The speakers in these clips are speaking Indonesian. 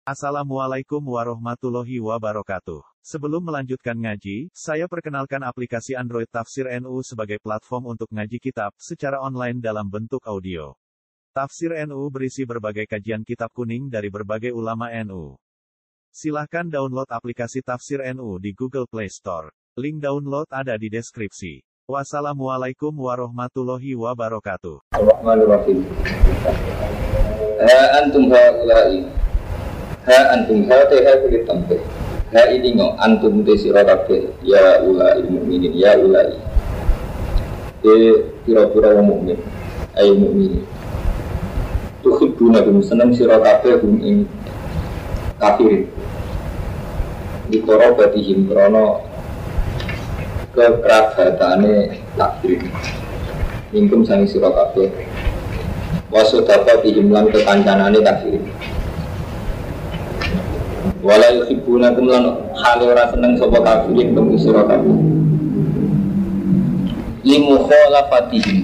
Assalamualaikum warahmatullahi wabarakatuh. Sebelum melanjutkan ngaji, saya perkenalkan aplikasi Android Tafsir NU sebagai platform untuk ngaji kitab secara online dalam bentuk audio. Tafsir NU berisi berbagai kajian kitab kuning dari berbagai ulama NU. Silahkan download aplikasi Tafsir NU di Google Play Store. Link download ada di deskripsi. Wassalamualaikum warahmatullahi wabarakatuh. Bismillahirrahmanirrahim. Antum haula'i. Antum haula'i kulit tampil. Ini ngo antum tesira kabeh ya ulai mukminin ya ulai. Pira-pira wong mukmin. Ayo mukmin. Tuhibbuna kum seneng sira kabeh kum ing kafir. Di korobatihim krono kekerabatane takdir. Ingkum sangi sira kabeh. Wasodaqatihim lan kekancanane kafir. Wala yuhibbunakum lan hale ora seneng sapa kafirin kum sira kabeh. Limukhalafatihim.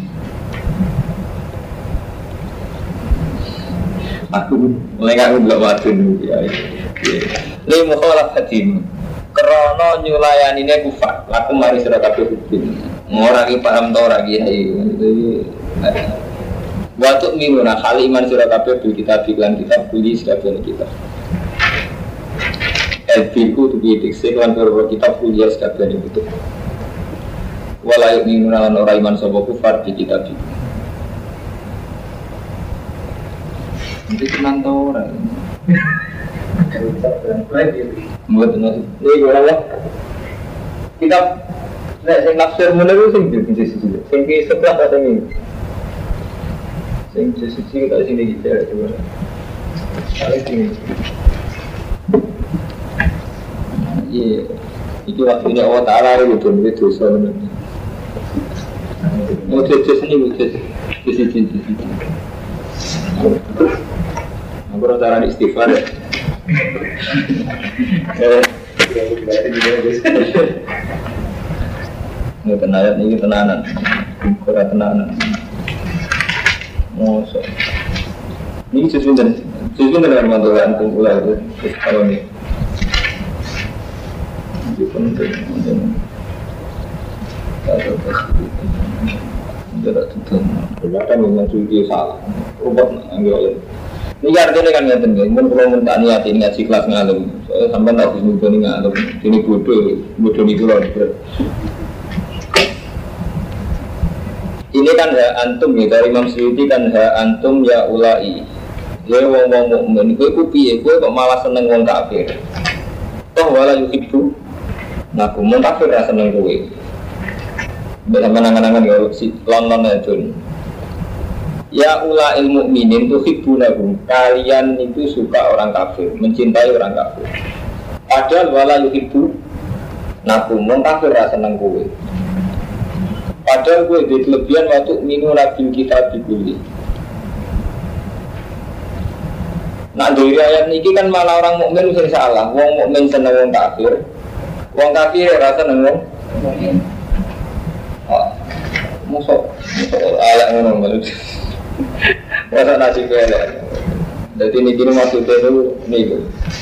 Aku mulai gak ngelok wadun ya. Limukhalafatihim. Krana nyulayanine kufar, laku mari sira kabeh hukum. Ora ki paham ta ora ki Watuk minuna hal iman sira kabeh bil kitab lan kitab buli sakabehane kita. Elbiku tu dikse lan perkara kitab buli sakabehane itu. Wala minuna lan ora iman sapa kufar di kitab iki. Iki tenan ta ora? Mboten iki ora wae. Kitab nek sing nafsir menawa sing sing sebelah kata ini. Sing sisi kita sini kita coba. Kali ini. Iya, itu waktunya Allah Taala itu dosa benar. Mau jadi sini sisi. Aku rasa istighfar. Ini tenanan ini tenanan, kurang tenanan. Mosok. Ini sesuatu dengan mantul antum ulah itu kalau ni. Itu penting. Ada tuh. Ternyata memang suci salah. Robot ambil. Ini artinya kan ngerti nggak? Mungkin kalau minta niat ini ngaji kelas ngalem. Soalnya sampai tak bisa mudah nih ngalem. Ini bodoh nih pulau. Ini kan hak antum ya, dari Imam Suyuti kan hak antum ya ulai. Ya wong mukmin kowe ku piye kowe kok malah seneng wong kafir. Toh wala yuhibbu. Nah, mun kafir ra seneng kowe. Bila menangan-angan ya si lon-lon adun. Ya ulai mukminin tuhibbunahum. Kalian itu suka orang kafir, mencintai orang kafir. Padahal wala yuhibbu. Nah, mun kafir ra seneng kowe. Padahal gue di kelebihan waktu minu nabil kita dibeli. Nah dari ayat ini kan malah orang mukmin sering salah. Wong mukmin seneng wong kafir, wong kafir rasa seneng wong mukmin. Musuh ayat ngono maksud. Masa nasi kele. Jadi ini kini maksudnya itu nih.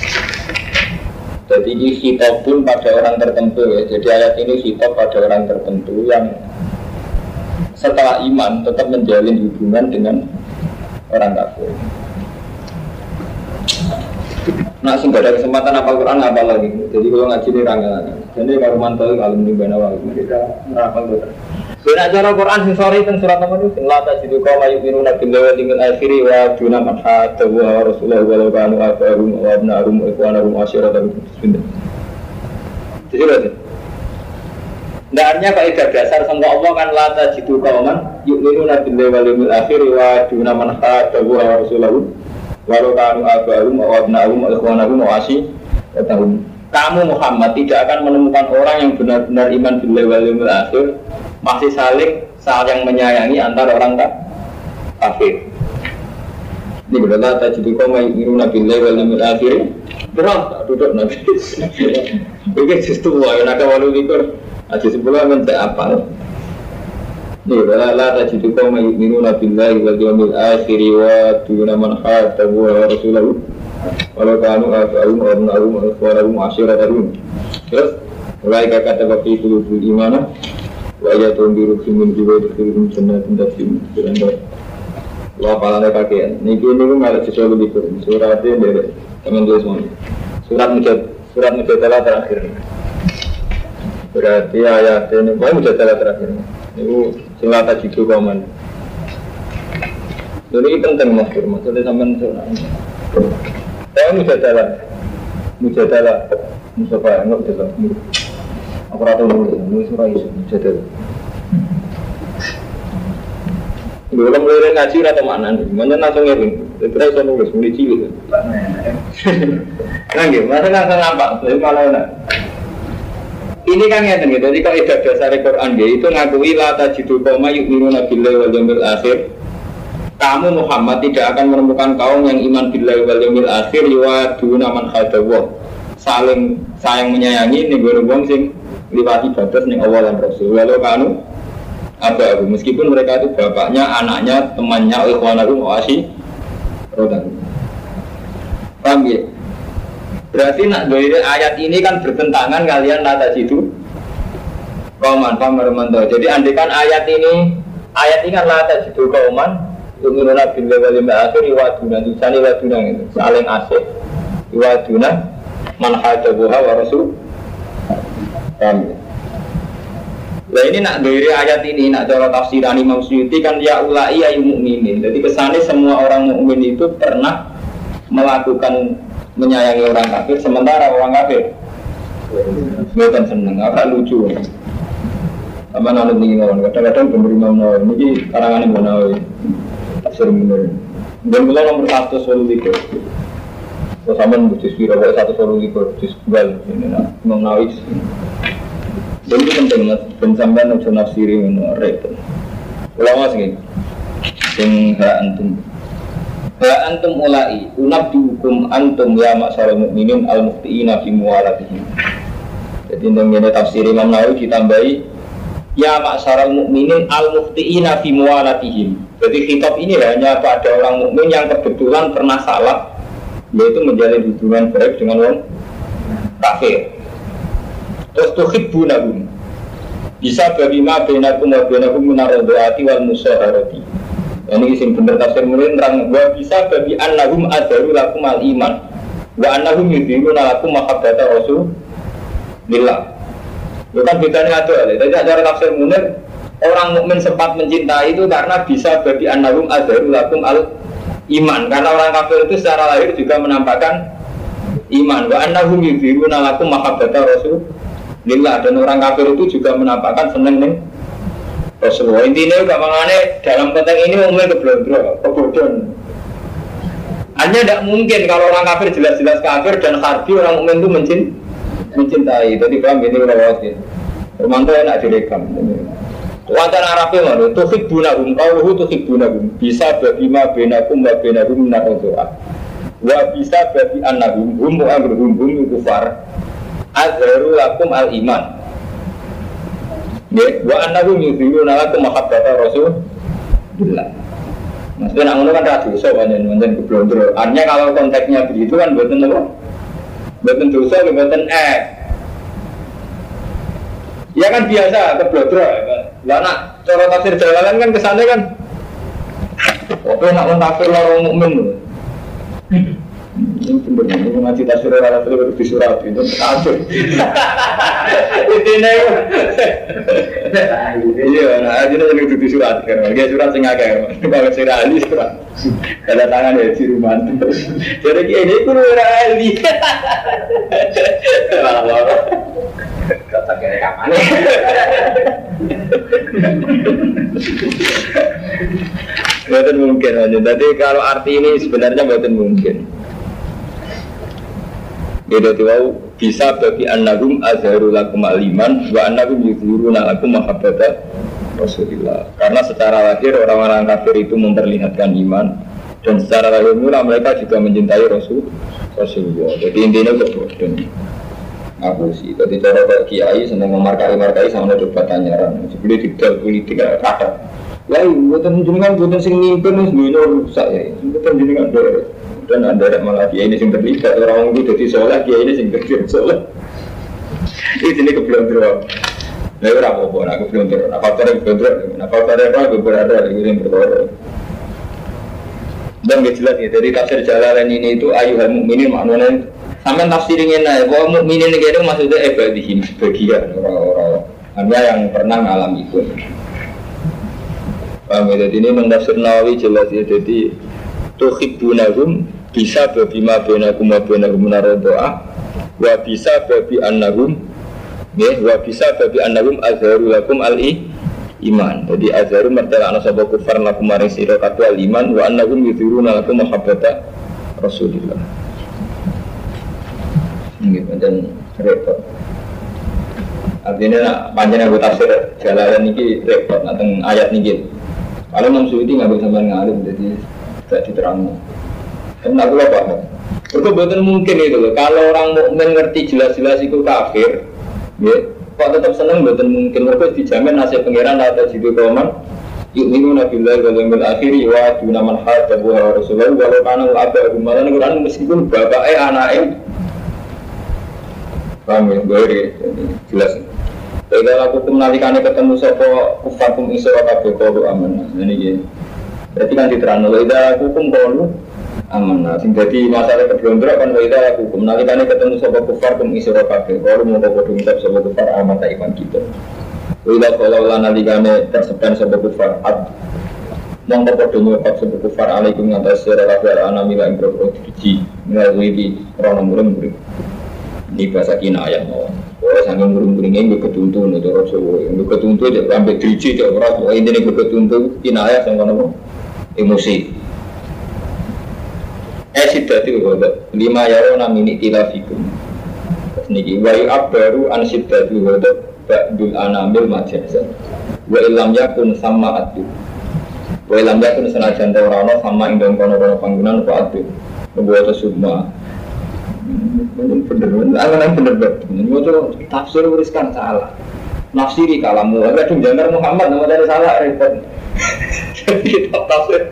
Jadi ini khitab pun pada orang tertentu ya. Jadi ayat ini khitab pada orang tertentu yang setelah iman tetap menjalin hubungan dengan orang kafir. Nah, sing ada kesempatan hafal Quran hafal lagi. Jadi kalau ngaji ini rangga-rangga. Jadi kalau mantau kalau di bawah kita hafal betul. Benar cara Quran sing sore teng surat nomor itu sing la tajidu qauma yu'minuna billahi wal yawmil akhir wa duna man hatta wa rasulullah wa kanu abarum wa abna'um wa ikhwanahum asyiratan bismillah. Jadi berarti Ndarnya kaidah dasar sangka Allah kan la tajidu qauman yu'minuna billahi wal yawmil akhir wa duna man hatta wa rasulullah wa kanu abarum wa abna'um wa ikhwanahum asyiratan. Kamu Muhammad tidak akan menemukan orang yang benar-benar iman billahi wal yawmil akhir masih saling menyayangi antara orang kafir. Ini berarti tajidu qauman yu'minuna billahi wal yawmil akhir. Berapa duduk nanti? Oke, justru wae nak walu likur. Aja sebulan men tak apa. Ni la tajidu qauman yu'minuna billahi wal yawmil akhir wa duna man hatta wa rasulullah walau kanu abahum abnahum ikhwanahum asyiratahum. Terus mulai kata bapak itu iman wa ayatun birukum jiwa birukum jannatin tajri min wa palane kakean niki niku ngalih sesuatu di suratnya dari teman tulis mon surat mujadalah terakhir berarti ayat ini mujadalah terakhir niku selata jitu komen ini penting mas maksudnya sampean surat mujadalah Mustafa enggak jelas aku rata nulis surat itu mujadalah. Belum mulai ngaji atau mana nih? Mana langsung ngirim? Terus saya nulis mulai cilik. Nggak, masa langsung nampak? Jadi malah ini kan ya gitu. Jadi kalau ibadah dasar Quran itu ngakui la tajidu qauma yu'minuna billahi wal yawmil akhir. Kamu Muhammad tidak akan menemukan kaum yang iman billahi wal yawmil akhir yu'aduna man khadawah. Saling sayang menyayangi nih wong sing liwati batas ning Allah dan Rasul. Walau kanu Abu meskipun mereka itu bapaknya, anaknya, temannya, ikhwanahum wasi rodakum. Paham ya? Berarti nak dari ayat ini kan bertentangan kalian nata situ kauman pamermanto. Jadi andikan ayat ini kan nata situ kauman yu'minuna billahi wal yawmil akhir wa tulisane wa itu saling asih. Wa man hadabuha wa rasul. Paham ya? Nah ini nak dari ayat ini, nak cara tafsiran Imam Suyuti kan ya ulai ayu mukminin. Jadi kesannya semua orang mukmin itu pernah melakukan menyayangi orang kafir, sementara orang kafir bukan seneng, apa lucu. Sama nanti nih kadang-kadang pemberi Imam Nawawi ini karangan Imam Nawawi tafsir bener. Dan mulai nomor 123. Terus sama nulis kira 123 di sebuah ini nak Imam Nawawi. Dan itu penting mas, pensampean ujian nafsiri menorek. Ulama segini, sing ha antum ulai, unabdukum antum ya masyarakat mukminin al muftiina fi muwalatihim. Jadi dengan tafsir Imam Nawawi ditambahi ya masyarakat mukminin al muftiina fi muwalatihim. Jadi kitab ini hanya pada orang mukmin yang kebetulan pernah salah, yaitu menjalin hubungan baik dengan orang kafir. Terus tuhibbunahum bisa bagi ma bainakum wa bainakum minaradhaati wal musaharati. Ini sing bener tafsir mulai terang wa bisa bagi annahum adaru lakum al iman wa annahum yudhiruna lakum mahabbata rasulillah. Bukan bedanya ada. Jadi cara tafsir mulai orang mukmin sempat mencintai itu karena bisa bagi annahum adaru lakum al iman, karena orang kafir itu secara lahir juga menampakkan iman. Wa annahum yudhiruna lakum mahabbata rasulillah. Lillah, dan orang kafir itu juga menampakkan seneng nih Rasulullah. Intinya juga mengenai dalam konteks ini umumnya kebodohan. Hanya tidak mungkin kalau orang kafir jelas-jelas kafir dan harbi orang mukmin itu mencintai. Jadi paham ini udah ya. Romanto enak direkam. Wacana Arabnya mana? Tuhibbunahum, kauhu tuhibbunahum. Bisa bagi ma benakum wa benahum narozoah. Wa bisa bagi annahum hum mu'amruhum hum kufar. Azharu lakum al-iman. Wa annahum yudhiruna lakum mahabbata rasulillah. Maksudnya nak ngono kan ra dosa pancen keblondro. Artinya kalau konteksnya begitu kan mboten apa? Mboten dosa, mboten ya kan biasa keblondro. Lah nak cara tafsir jalalan kan kesannya kan oke nak mentafsir orang mukmin. Ini sebenarnya ini ngaji tafsir orang itu di surat itu kacau. Intinya iya, nah ini jadi di surat kan, dia surat sengaja kan, kalau surat ahli surat, ada tangan ya di rumah. Jadi ini pun orang ahli. Kata kira kapan? Betul mungkin aja. Jadi kalau arti ini sebenarnya betul mungkin. Jadi bisa bagi annahum azharu lakum al-iman wa annahum yudhiruna lakum mahabbata Rasulillah. Karena secara lahir orang-orang kafir itu memperlihatkan iman, dan secara lahir mula mereka juga mencintai Rasulullah. Jadi intinya kebodohan. Aku sih, tadi cara Pak Kiai senang memarkai sama debat tanyaran. Sebelum tidak politik ada. Ya, buatan jenengan buatan sing mimpin wis duwe rusak ya. Buatan jenengan dan ada malah dia ini yang terlibat orang itu jadi soleh, dia ini yang terlibat soleh. Ini keblonderan. Nah, apa-apa, aku keblonderan. Faktornya keblonderan. Faktornya apa? Aku berada di yang berkorban. Dan jelas ya, dari tafsir Jalalain ini itu ayuhal mukminin maknanya sampai tafsirin ini, bahwa mukminin itu maksudnya ibadihim, bagian orang-orang yang pernah mengalami itu. Paham ya? Jadi ini mentafsir Nawawi jelas ya, jadi tuhibbunahum bisa bima bainakum wa bainahum naradha'ah wa bisa babi annahum ya wa bisa babi annahum azharu lakum al-iman. Jadi azharu mertelakna sapa kufar lakum maring sira kabeh al-iman wa annahum yudhiruna lakum mahabbata Rasulillah. Ini pancen repot. Artinya panjenengan aku tafsir Jalalain ini repot tentang ayat ini. Kalau Imam Suyuti nggak bisa ngalim, jadi tidak diterangkan. Karena aku lupa. Betul mungkin itu loh. Kalau orang mukmin ngerti jelas-jelas itu kafir, ya, kok tetap seneng betul mungkin. Mereka dijamin nasib pangeran atau jitu kauman. Yu'minuna billahi wal yawmil akhir wa duna man haddahu wa rasuluhu walau kana aba'uhum malan Quran meskipun bapaknya anaknya. Paham ya? Jelas. Kalau aku menalikannya ketemu sopo kufakum iso kabeh qalu amanah. Ini gitu. Berarti kan diterangno ida hukum qalu amanah. Sing dadi masalah keblondro kan ida hukum menalikannya ketemu sopo kufakum iso kabeh qalu mau padha ngucap sopo kufar amanah iman kita. Ida kalau nalikane tersebar sopo kufar ad mongko padha ngucap sopo kufar alaikum ngatas sira kabeh anamila ing boro diji melalui rono murid. Ini bahasa kinayah mau. Oh, sangat muring-muringnya gue ketuntun itu Rasulullah. Gue ketuntun dia sampai driji dia orang. Oh, ini gue ketuntun kinayah sama apa? Emosi. Sidati wadah. 5 yarona mini tilafikum. Niki wayu abbaru an sidati wadah. Ba'dul anamil majazan. Wa ilam yakun sama adu. Wa ilam yakun senajan taurana sama indon kono-kono panggungan apa adu. Membuat semua. Bener-bener tafsir uriskan salah nafsiri kalamu kadang jangkar Muhammad nama dari salah repot kitab tafsir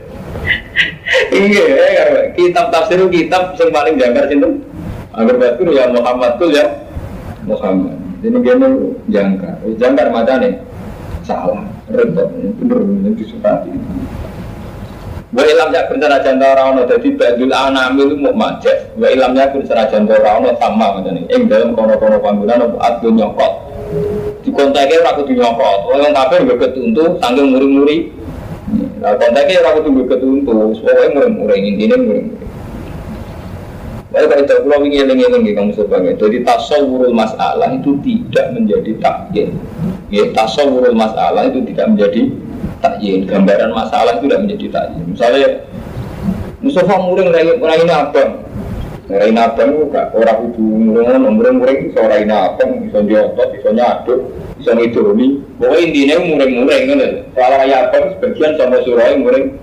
iya kitab tafsir itu kitab yang paling jangkar cinta agar betul ya Muhammad tuh ya Muhammad ini gini jangkar macam salah repot bener-bener disukati. Wa ilam yakun sanajan ta ora ana dadi badul anamil mu majaz. Wa ilam yakun sanajan ta ora ana sama ngene. Ing dalem kono-kono panggonan apa adun nyokot. Dikontake ora kudu nyokot. Wong kafir nggo ketuntu saking muri-muri. Lah kontake ora kudu nggo ketuntu, pokoke muri-muri intine muri-muri. Wae kalau kita pulau ingin nggih kamu sebagai. Jadi tasawwurul masalah itu tidak menjadi takyin. Ya tasawwurul masalah itu tidak menjadi takyin, gambaran masalah itu tidak menjadi takyin. Misalnya Mustafa muring raine abang. Raine abang itu orang kudu muring iso raine abang, iso diotot, iso nyaduk, iso ngidoni. Pokoke intine muring kan. Kalau raya abang sebagian sama surai muring.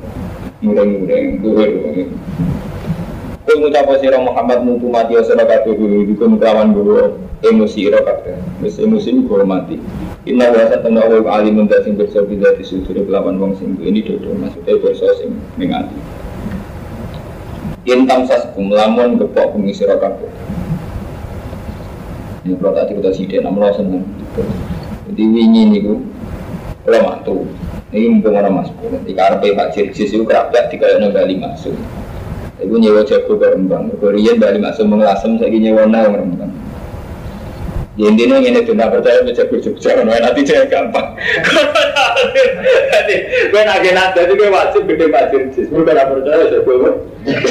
Kau ngucap sira Muhammad mutu mati sira kabeh dikon kelawan guru emosi sira kabeh. Wis emosi ku mati. Inna wa satana wa alimun sing bersa bila disudur kelawan wong sing ini dodo maksudnya bersa sing ning ati. Intam saskum lamun gepok bumi sira kabeh. Ini kalau tadi kita sidik namanya seneng. Jadi wingi niku kula mantu. Ini mumpung orang masuk. Di karepe Pak Jirjis itu kerabat dikayakno Bali masuk. Ibu nyewa jago berembang, Korea Bali masuk mengelasem, saya nyewa nang berembang. Ya intinya ini tidak percaya jago Jogja, nanti saya gampang. Jadi, gue nagih nada itu gue wajib gede Pak Jirjis, gue tidak percaya jago.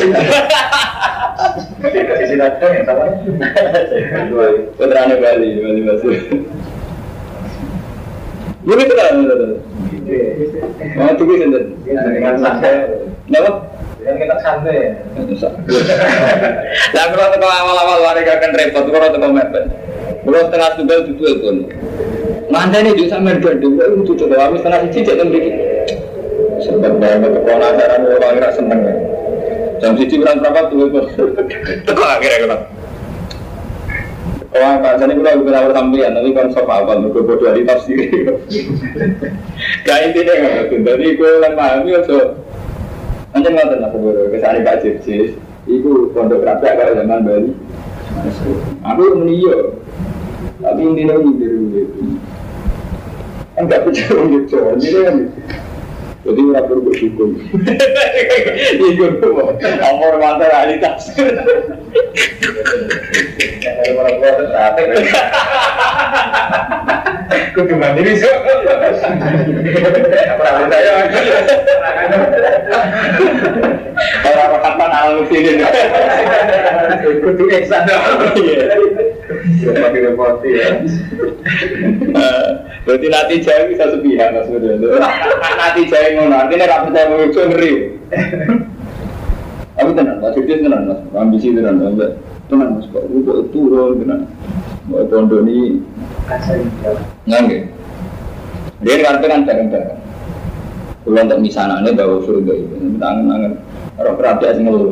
Kasih nada yang sama. Putrane Bali masuk. Gue itu kan, mau tunggu sendiri. Dengan santai, kenapa? Kan kita santai ya. Lah kalau teko awal-awal warga kan repot kalau teko mepet. Kalau setengah tunggal itu itu. Ngandane di sampean gandung itu coba kami setengah siji cek teng mriki. Sebab banget teko lantaran orang ora seneng. Jam siji berapa tuh teko akhirnya kan. Orang bahasanya kita bukan awal sampean, tapi kan sok awal mereka bodoh di tafsir. Kayak intinya nggak betul. Jadi gue yang pahami itu, macam nggak tenang aku baru kesana Pak Jirjis. Itu pondok kerajaan kalau zaman Bali. Aku meniyo, tapi intinya ini kan nggak percaya orang Jawa, ini kan. Jadi nggak perlu bersyukur. Ikut tuh, amor mata realitas. Kalau orang tertarik, aku cuma diri sih. Apa saya? Orang kapan alam sini? Ikut tuh eksan. Pakai repot ya. Berarti nanti jauh bisa sepihak mas Budi. Nanti jauh ngono, artinya nggak percaya mengikut ngeri. Aku tenang, tak cerita tenang mas, ambisi tenang mas, kok itu turun tenang. Mau pondok ini, nggak? Dia kan bareng-bareng. Kalau untuk misalnya bawa surga itu, tangan orang perhatian sih ngeluh.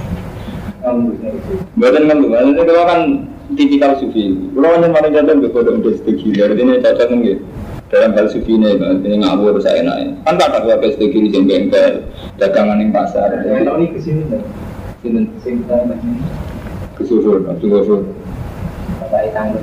Bukan ngeluh, itu kan tipikal sufi. Kalau hanya mana jatuh berkodok strategi, artinya cocok nggak? Dalam hal sufi ini, artinya ngawur saya naik. Kan tak ada strategi di bengkel, dagangan di pasar. Kalau ini kesini, kesusun. Apa itu?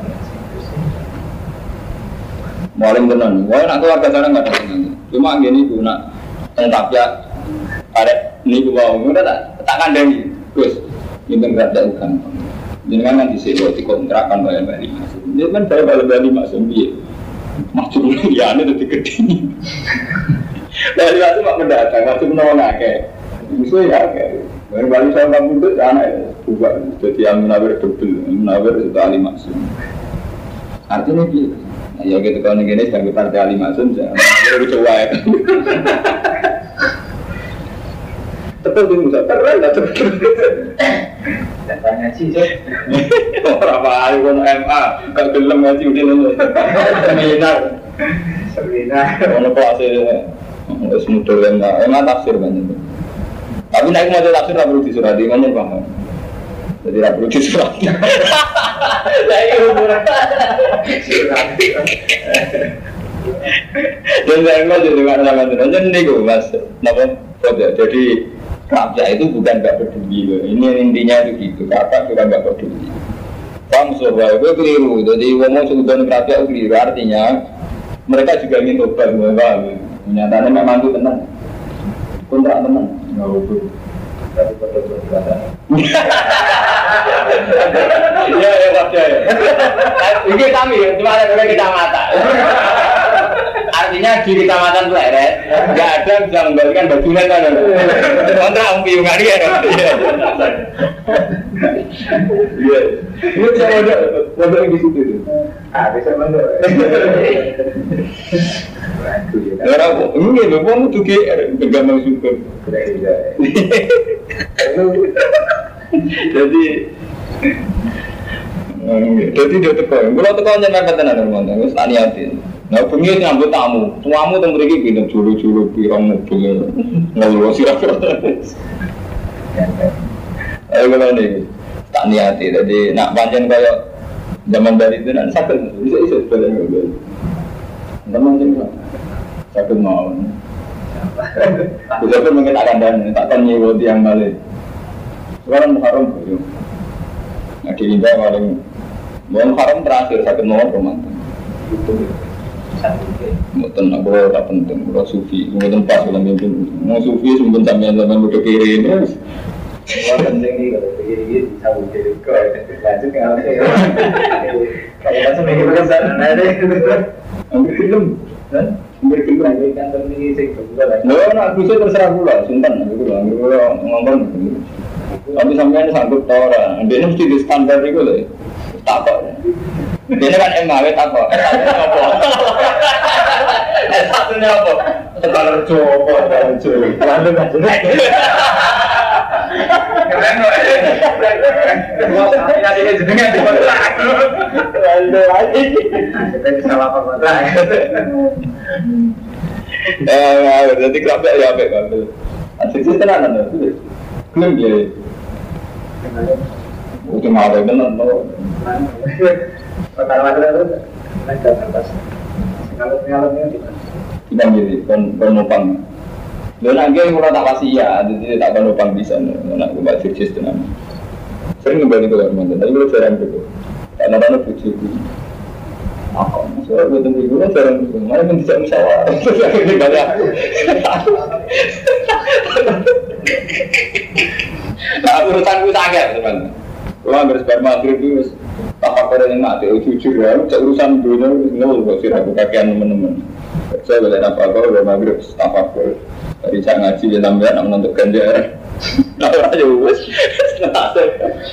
Maling tenan. Wah, nak keluarga sana nggak ada tenan. Cuma gini tu nak tentap ya. Ada ni gua mau tak kandang. Terus ini berada bukan. Jangan nanti sewa di kontrakan bayar balik masuk. Dia kan bayar balik masuk dia. Masuk ya ini tu kedini. Dari waktu mak mendatang masuk menolong ke. Musuh ya ke. Bayar balik sama kamu tu anak bukan. Jadi yang menawar double, menawar itu ahli masuk. Artinya dia. Ya gitu kalau negara sebagai partai ahli masuk, baru coba ya. Tetap di musa keren lah tetap. Datang ngaji je. Berapa hari pun MA, kalau belum ngaji udah nol. Seminar. Mana kelas ini? Semudah MA tafsir banyak. Tapi naik mau tafsir tak perlu disurati, ngomong paham. Jadi tak perlu disurati. Saya umuran. Surati. Dan saya nggak jadi mana-mana aja nih gue mas. Nampak? Jadi kerja itu bukan nggak peduli, ini intinya itu gitu. Kakak juga nggak peduli. Kamu sobat, gue keliru. Jadi ngomong sudah kerja itu keliru. Artinya mereka juga ingin tobat, bahwa nyatanya memang itu tenang, kontrak tenang. Nggak betul. Tapi betul ya wajar. Ini kami cuma ada kecamatan. Artinya di kecamatan Pleret nggak ada bisa mengembalikan bajunya kan? Kontrak piungan dia. Iya. Ini saya ada di situ tu. Bisa mana? Orang ini memang tu ke bergambar syukur. Jadi dia tekan. Kalau tekan jangan kata nak teman-teman, mesti tanya hati. Nah, pengen nyambut tamu temu mereka pindah juru-juru pirang mobil, ngeluh sirap. Ayo kalau ni, tak niati. Jadi nak panjang kayak zaman dari itu nak sakit, bisa sebenarnya mobil. Zaman macam sakit mau. Bisa pun mungkin akan dan takkan nyewa tiang balik. Sekarang Muharram tu, nak diindah paling Muharram terakhir sakit mau romantis. Mungkin aku tak penting, kalau sufi, mungkin pas dalam mimpi, mau sufi mungkin sampai zaman udah kiri ini. Kalau penting ni kalau kiri bisa kiri, kalau lanjut ke apa? Kalau macam ni kita kan ada ambil film, ambil film lagi kan terus ni juga lah. No, nak bisa terserah pula, simpan ambil pula ngomong. Tapi sampai ni sanggup tahu orang, dia mesti di standar itu le, tak apa. Dia kan MAW tak apa. Satunya apa? Kalau coba, lalu macam ni. Keren loh. Nanti dia jenengan di mana? Lalu lagi. Kita salah apa lagi? Jadi kerap ya apa kan? Asik tenan ada tu. Klaim dia. Udah ada benar loh. Perkara itu ada atas. Kalau di mana? Kita jadi penopang. Dan akhirnya kalau tak pasti ya, jadi tak akan lubang di sana. Nak buat sukses dengan sering kembali ke Kalimantan, tapi kalau jarang gitu. Karena ada bujuk itu. Aku soal gue tunggu gue jarang gitu. Mana pun tidak musyawarah. Ini banyak. Nah urusan gue sangat teman. Kalau ambil sperma maghrib itu tak apa yang mati. Jujur ya, urusan dunia nol. Gak sih aku kakean teman-teman. Saya boleh apa-apa, boleh maghrib tak apa. Dari saya ngaji dia namanya nak menuntut ganjaran. Lalu aja wes, nasi.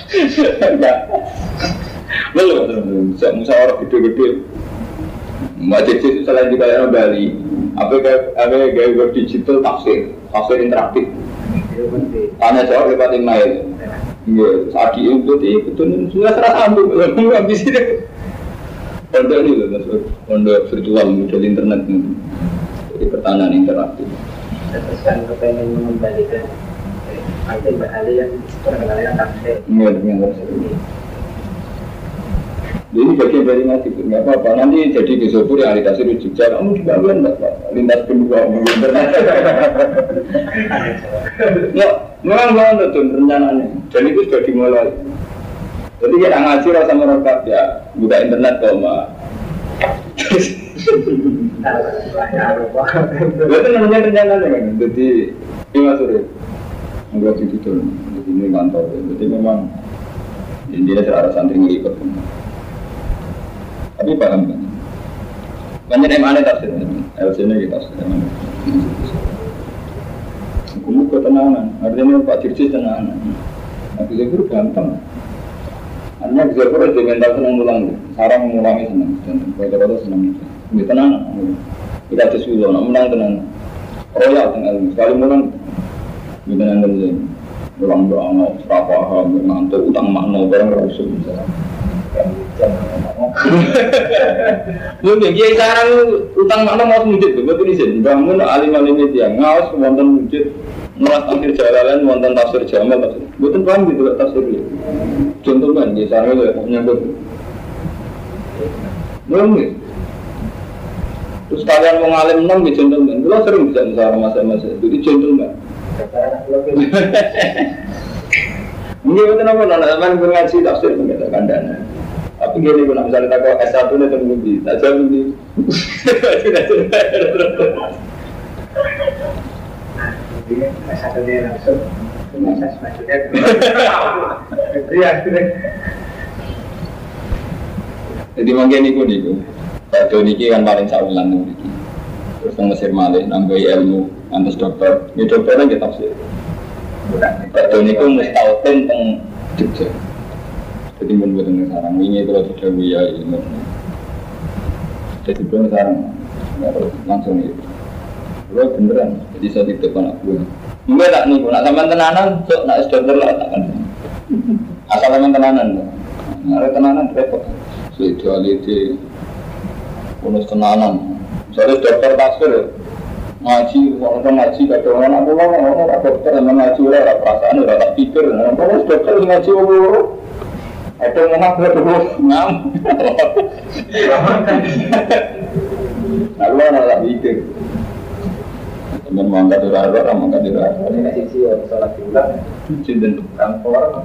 Belum, saya musyawarah gede-gede. Macam itu selain di daerah Bali, apa gaya digital tafsir interaktif. Tanya jawab lewat email. Iya, saat itu betul sudah serasa ambil, habis itu. Pondok ini loh, pondok virtual model internet ini. Jadi pertanyaan interaktif. Terus kan kepengen mengembalikan itu beralih yang perkenalkan tafsir. Iya, dengan tafsir. Jadi bagian dari ngaji itu nggak apa-apa. Nanti jadi disebut realitasi rujuk jalan. Kamu juga enggak apa-apa. Lintas kedua internet. Ya, memang banget tuh rencananya. Dan itu sudah dimulai. Jadi kita ngaji rasa merokat ya, buka internet kok mbak. Itu namanya rencananya kan. Jadi ini masuk nggak gitu. Jadi ini kantor. Jadi memang intinya cara santri ngikut. Tapi paham kan? Banyak yang aneh tafsir, LC-nya kita tafsir. Hukum ketenangan, artinya Pak Dirjen tenangan. Tapi itu gampang. Hanya bisa berarti mental senang ulang, sarang mengulangi senang, dan kata-kata senang. Ini tenangan, kita sesuatu, menang tenang. Royal tenang, sekali menang, ini tenang dan ulang doang, serapah, ngantuk, utang makna, barang rasul misalnya. Mungkin kiai sarang utang makna mau mujud tuh, betul izin. Bangun alim-alim itu yang ngawas wonten mujud, nolak akhir jalan wonten tafsir jamal tafsir. Betul paham gitu tafsir itu. Contoh kan kiai sarang itu menyambut. Mungkin. Terus kalian mau ngalim enam di contoh kan, kalau sering bisa misalnya masa-masa itu contoh kan. Mungkin betul apa nolakan ngaji tafsir mengatakan dana. Tapi gini, kalau misalnya tak kau S1 itu terbukti, tak jauh begini. S1 dia langsung, proses maksudnya. Jadi mungkin itu. Pak Doni kan paling saulan nih. Terus Mesir Malik nambahi ilmu, antas dokter. Ini dokternya kita tafsir. Pak Doni itu mustautin tentang Jogja. Jadi membuat sarang ini kalau sudah buaya ilmu. Jadi pun sarang langsung itu. Kalau beneran, jadi saya tidak pernah buat. Mungkin tak nih, nak sampai tenanan, sok nak dokter lah takkan. Asal sampai tenanan, ada tenanan repot. Spirituality, bonus tenanan. Misalnya dokter tafsir, ngaji, orang ngaji, kata orang aku orang dokter yang ngaji lah, perasaan udah tak pikir. Bonus dokter ngaji orang. Itu memang betul ngam. Lalu nak mikir. Teman mangkat dirara, mangkat dirara. Ini kasih sih salat diulang. Cinta Kampor.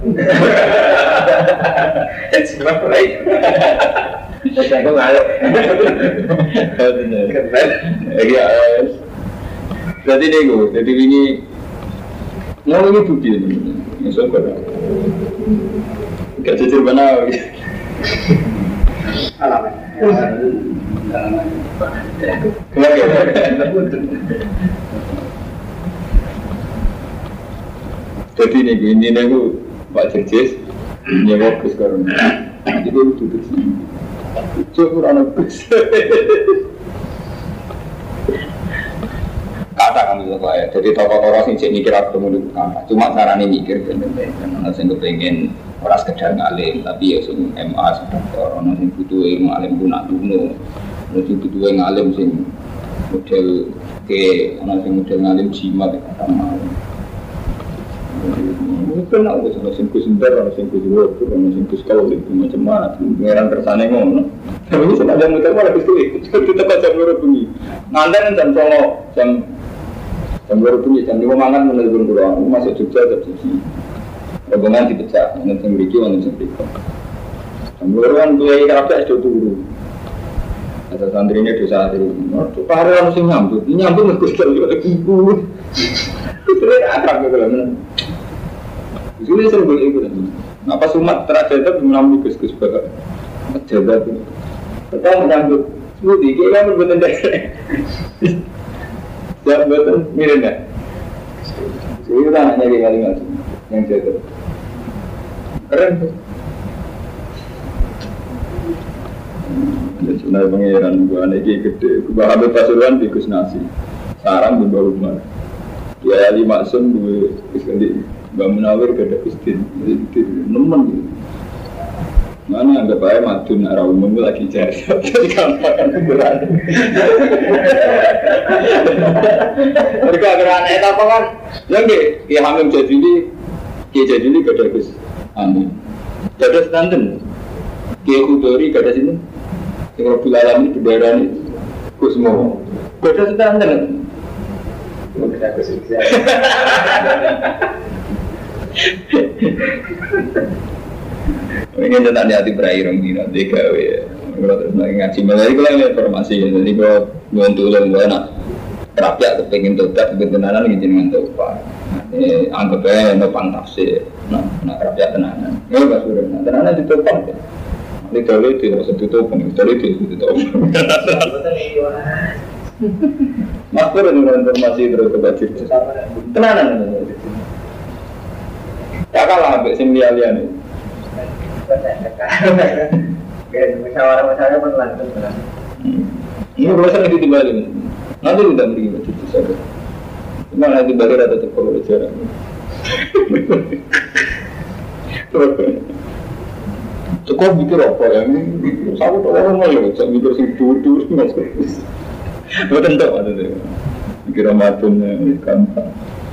sebab lain. Saya kok ngalok. Ya. Jadi nego, jadi ini mau ini bukti ini. Masuk ke. Gak jujur benar. Alamat. Jadi ini aku Pak Jerjes nyewa bus karena itu duduk sini. Coba anak bus. Kata kami itu ya. Jadi tokoh-tokoh sing mikir aku ketemu di kata. Cuma caranya mikir karena saya kepengen orang sekedar ngalim, tapi ya sing MA dokter, orang sing butuh ilmu alim pun nak duno, orang sing butuh ngalim sing model ke, orang sing model ngalim jimat kata mau. Mungkin aku sama sing kusinter, orang sing kusiwok, orang sing kuskau, macam-macam, pengeran tersane ngono. Tapi ini sengaja muter malah itu, kita baca berapa bunyi. Nganten jam Jam 2 bunyi, jam 5 mangan menelpon pulang, masuk Jogja terjadi rombongan dipecah, nanti yang beriki, nanti yang beriki. Jam 2 kan gue kerapnya sudah turun. Ada santrinya dosa hari ini. Hari orang mesti nyambut, ini nyambut ngegus dari ibu. Itu akrab gitu lah. Itu sering boleh ikut. Apa Sumat terjadi menambah gus-gus bakal terjadi. Pertama menyambut, semua dikit kan berbeda dasar. Jangan betul, mirip nggak? Itu anaknya kayak kali-kali yang jatuh. Keren tuh. Sebenarnya pengeran gue anak gede. Gue Habib Pasuruan di Gus Nasi. Sarang di bawah rumah. Dia Ali Maksum gue sekali. Mbak Munawir gak ada istin. Jadi nemen gitu. Mana anggap aja madun arah umum lagi jari. Jadi gampang ukuran. Mereka geran itu apa kan? Yang dia hamil jadi ini gak ada Gus Amin. Gak ada standar. Dia Kudori gak ada sini. Yang Rabbul Alamin bendera ini Gus Mo. Gak ada standar. Gak ada Gus Iksan. Ini tentang hati berakhir orang nanti gawe ya. Kalau terus lagi ngaji malah itu lah informasi. Jadi kalau bantu orang gue nak rakyat kepengen tobat kebenaran ini dengan tobat. Ini anggap aja nopang tafsir. Nak rakyat tenanan. Ya pas sudah tenanan ditobat. Ini kalau itu harus ditutup, kalau itu ditutup. Makhluk dengan informasi terus tobat cerita. Tenanan. Tak kalah sampai sembilan ini. Musyawarah-musyawarah pun lanjut. Ini proses itu dibalik. Nanti tidak beri macam itu saja. Cuma nanti balik ada terkolo jarak. Cukup mikir apa ya? Saya tahu orang malu. Saya mikir si dur masuk. Bukan tak ada tu. Mikir amatnya gampang.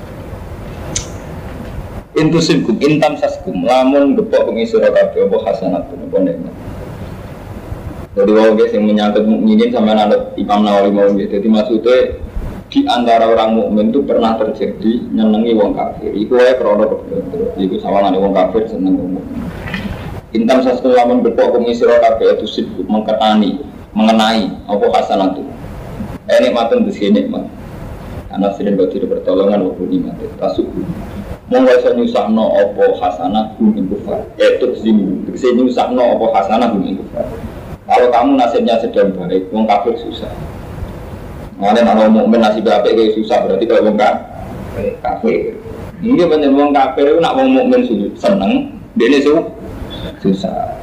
Intusibkum intam saskum lamun gepok pengisura kabeh apa hasanatun apa nikmat. Jadi wong guys yang menyangkut mukminin sama anak Imam Nawawi mau gitu. Jadi maksudnya di antara orang mukmin itu pernah terjadi nyenengi wong kafir. Iku wae krana kebetulan. Iku sawangane wong kafir seneng wong mukmin. Intam saskum lamun gepok pengisura kabeh itu sibuk mengenai apa hasanatun. Nikmatun di sini nikmat. Anak sering bagi pertolongan waktu nikmat tasuk. Monggo iso nyusahno apa hasanah ing kufar. Itu sing nyusahno apa hasanah ing kufar. Kalau kamu nasibnya sedang baik, wong kafir susah. Mane ana mukmin nasib apik kayak susah berarti kalau wong kafir. Ini bener wong kafir itu nak wong mukmin seneng, dene susah.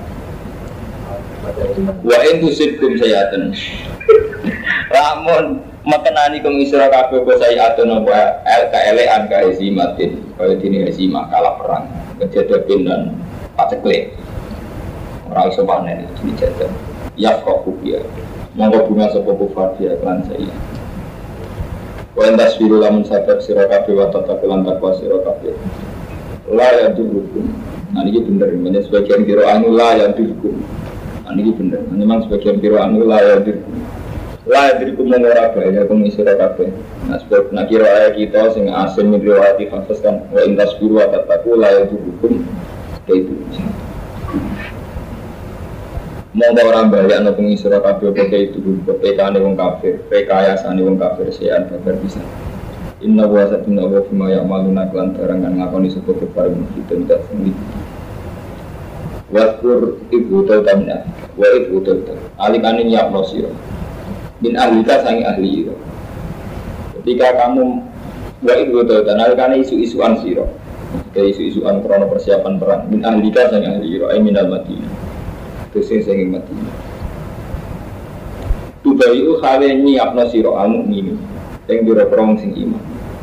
Wa intusibkum sayaten. Lamun makenani kum isra kabeh apa sayatun apa LKL angka isimatin kaya dene isima kalah perang kejadian dan paceklik ora iso panen dijajah ya kok ya monggo bunga sapa kufar dia lan saya wa tasbiru lamun sabar sira kabeh wa tatakulan takwa sira kabeh la ya durukum niki bener meneh sebagian kira anu la ya durukum niki bener memang sebagian kira anu la ya durukum lah dari kumengora bahaya kumisira kafe. Nah sebab nak kira ayat kita sing asin riwayat hafaz kan wa intas biru ataku lah itu hukum itu. Mau orang bahaya nak kumisira kafe pakai itu PK ane wong kafir, PKayasane wong kafir sean babar bisa. Inna wa satuna wa fima ya'maluna kelan barangan ngakoni sapa kafir kita tidak sendiri. Waskur ibu tautamna wa ibu tautam. Alikane nyapno sira. Bin ahlika sangi ahli itu. Ketika kamu buat itu dan karena isu-isuan siro, kayak isu-isuan krono persiapan perang. Bin ahlika sangi ahli itu, minal mati. Terus sangi mati. Tubayu hale nyiapno siro amuk ini, yang direprom sing iman.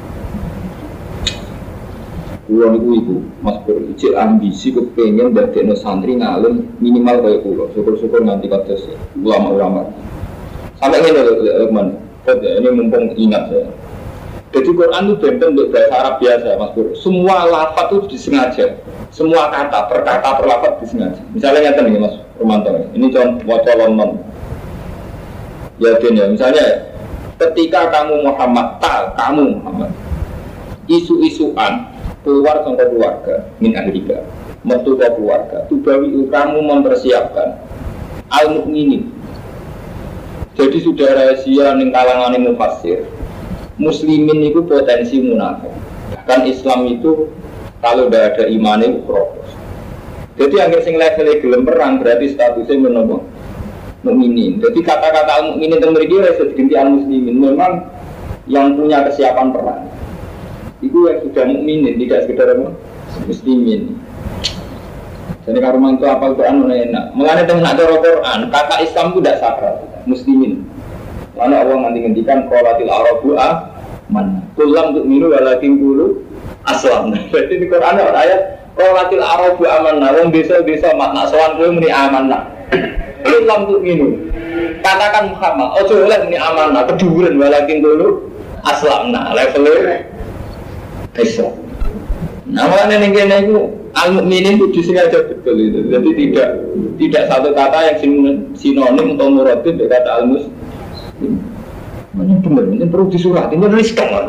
Kulon itu mas bericil ambisi kepengen dari santri ngalim minimal kayak pulau. Syukur-syukur nanti kata ulama-ulama. Sampai ini teman, ini mumpung ingat saya. Jadi Quran itu benten untuk bahasa Arab biasa, Mas Pur. Semua lafaz itu disengaja, semua kata per lafaz disengaja. Misalnya nyata nih Mas Romanto, ini contoh wacolon non. Ya misalnya ketika kamu Muhammad, kamu Muhammad isu-isuan keluar sama keluarga min ahlika metu ke keluarga tubawi kamu mempersiapkan al-mu'minin. Jadi sudah rahasia ning kalangan mufassir muslimin itu potensi munafik. Bahkan Islam itu kalau tidak ada iman itu propos. Jadi akhir sing level gelem perang berarti statusnya menapa mukminin. Jadi kata-kata al-mukminin itu mriki ora iso diganti al-muslimin. Memang yang punya kesiapan perang itu yang sudah mukminin, tidak sekedar muslimin. Jadi kalau memang itu apal Quran enak. Mengenai dengan cara Quran, kata Islam itu tidak sakral, muslimin. Karena Allah ngendikan qolatil arabu man kullam tu'minu walakin qulu aslam. Berarti di Quran ada ayat qolatil arabu amanna. Wong desa-desa makna sowan kowe muni amanna. Kullam tu'minu. Katakan Muhammad, ojo oleh muni amanna, keduren walakin qulu aslamna. Levelnya Islam. Nah, makanya ini itu al-mu'minin itu disengaja betul itu. Jadi tidak satu kata yang sinonim atau muradif dengan kata al-muslim. Ini benar, ini perlu disurat, ini riskan lah.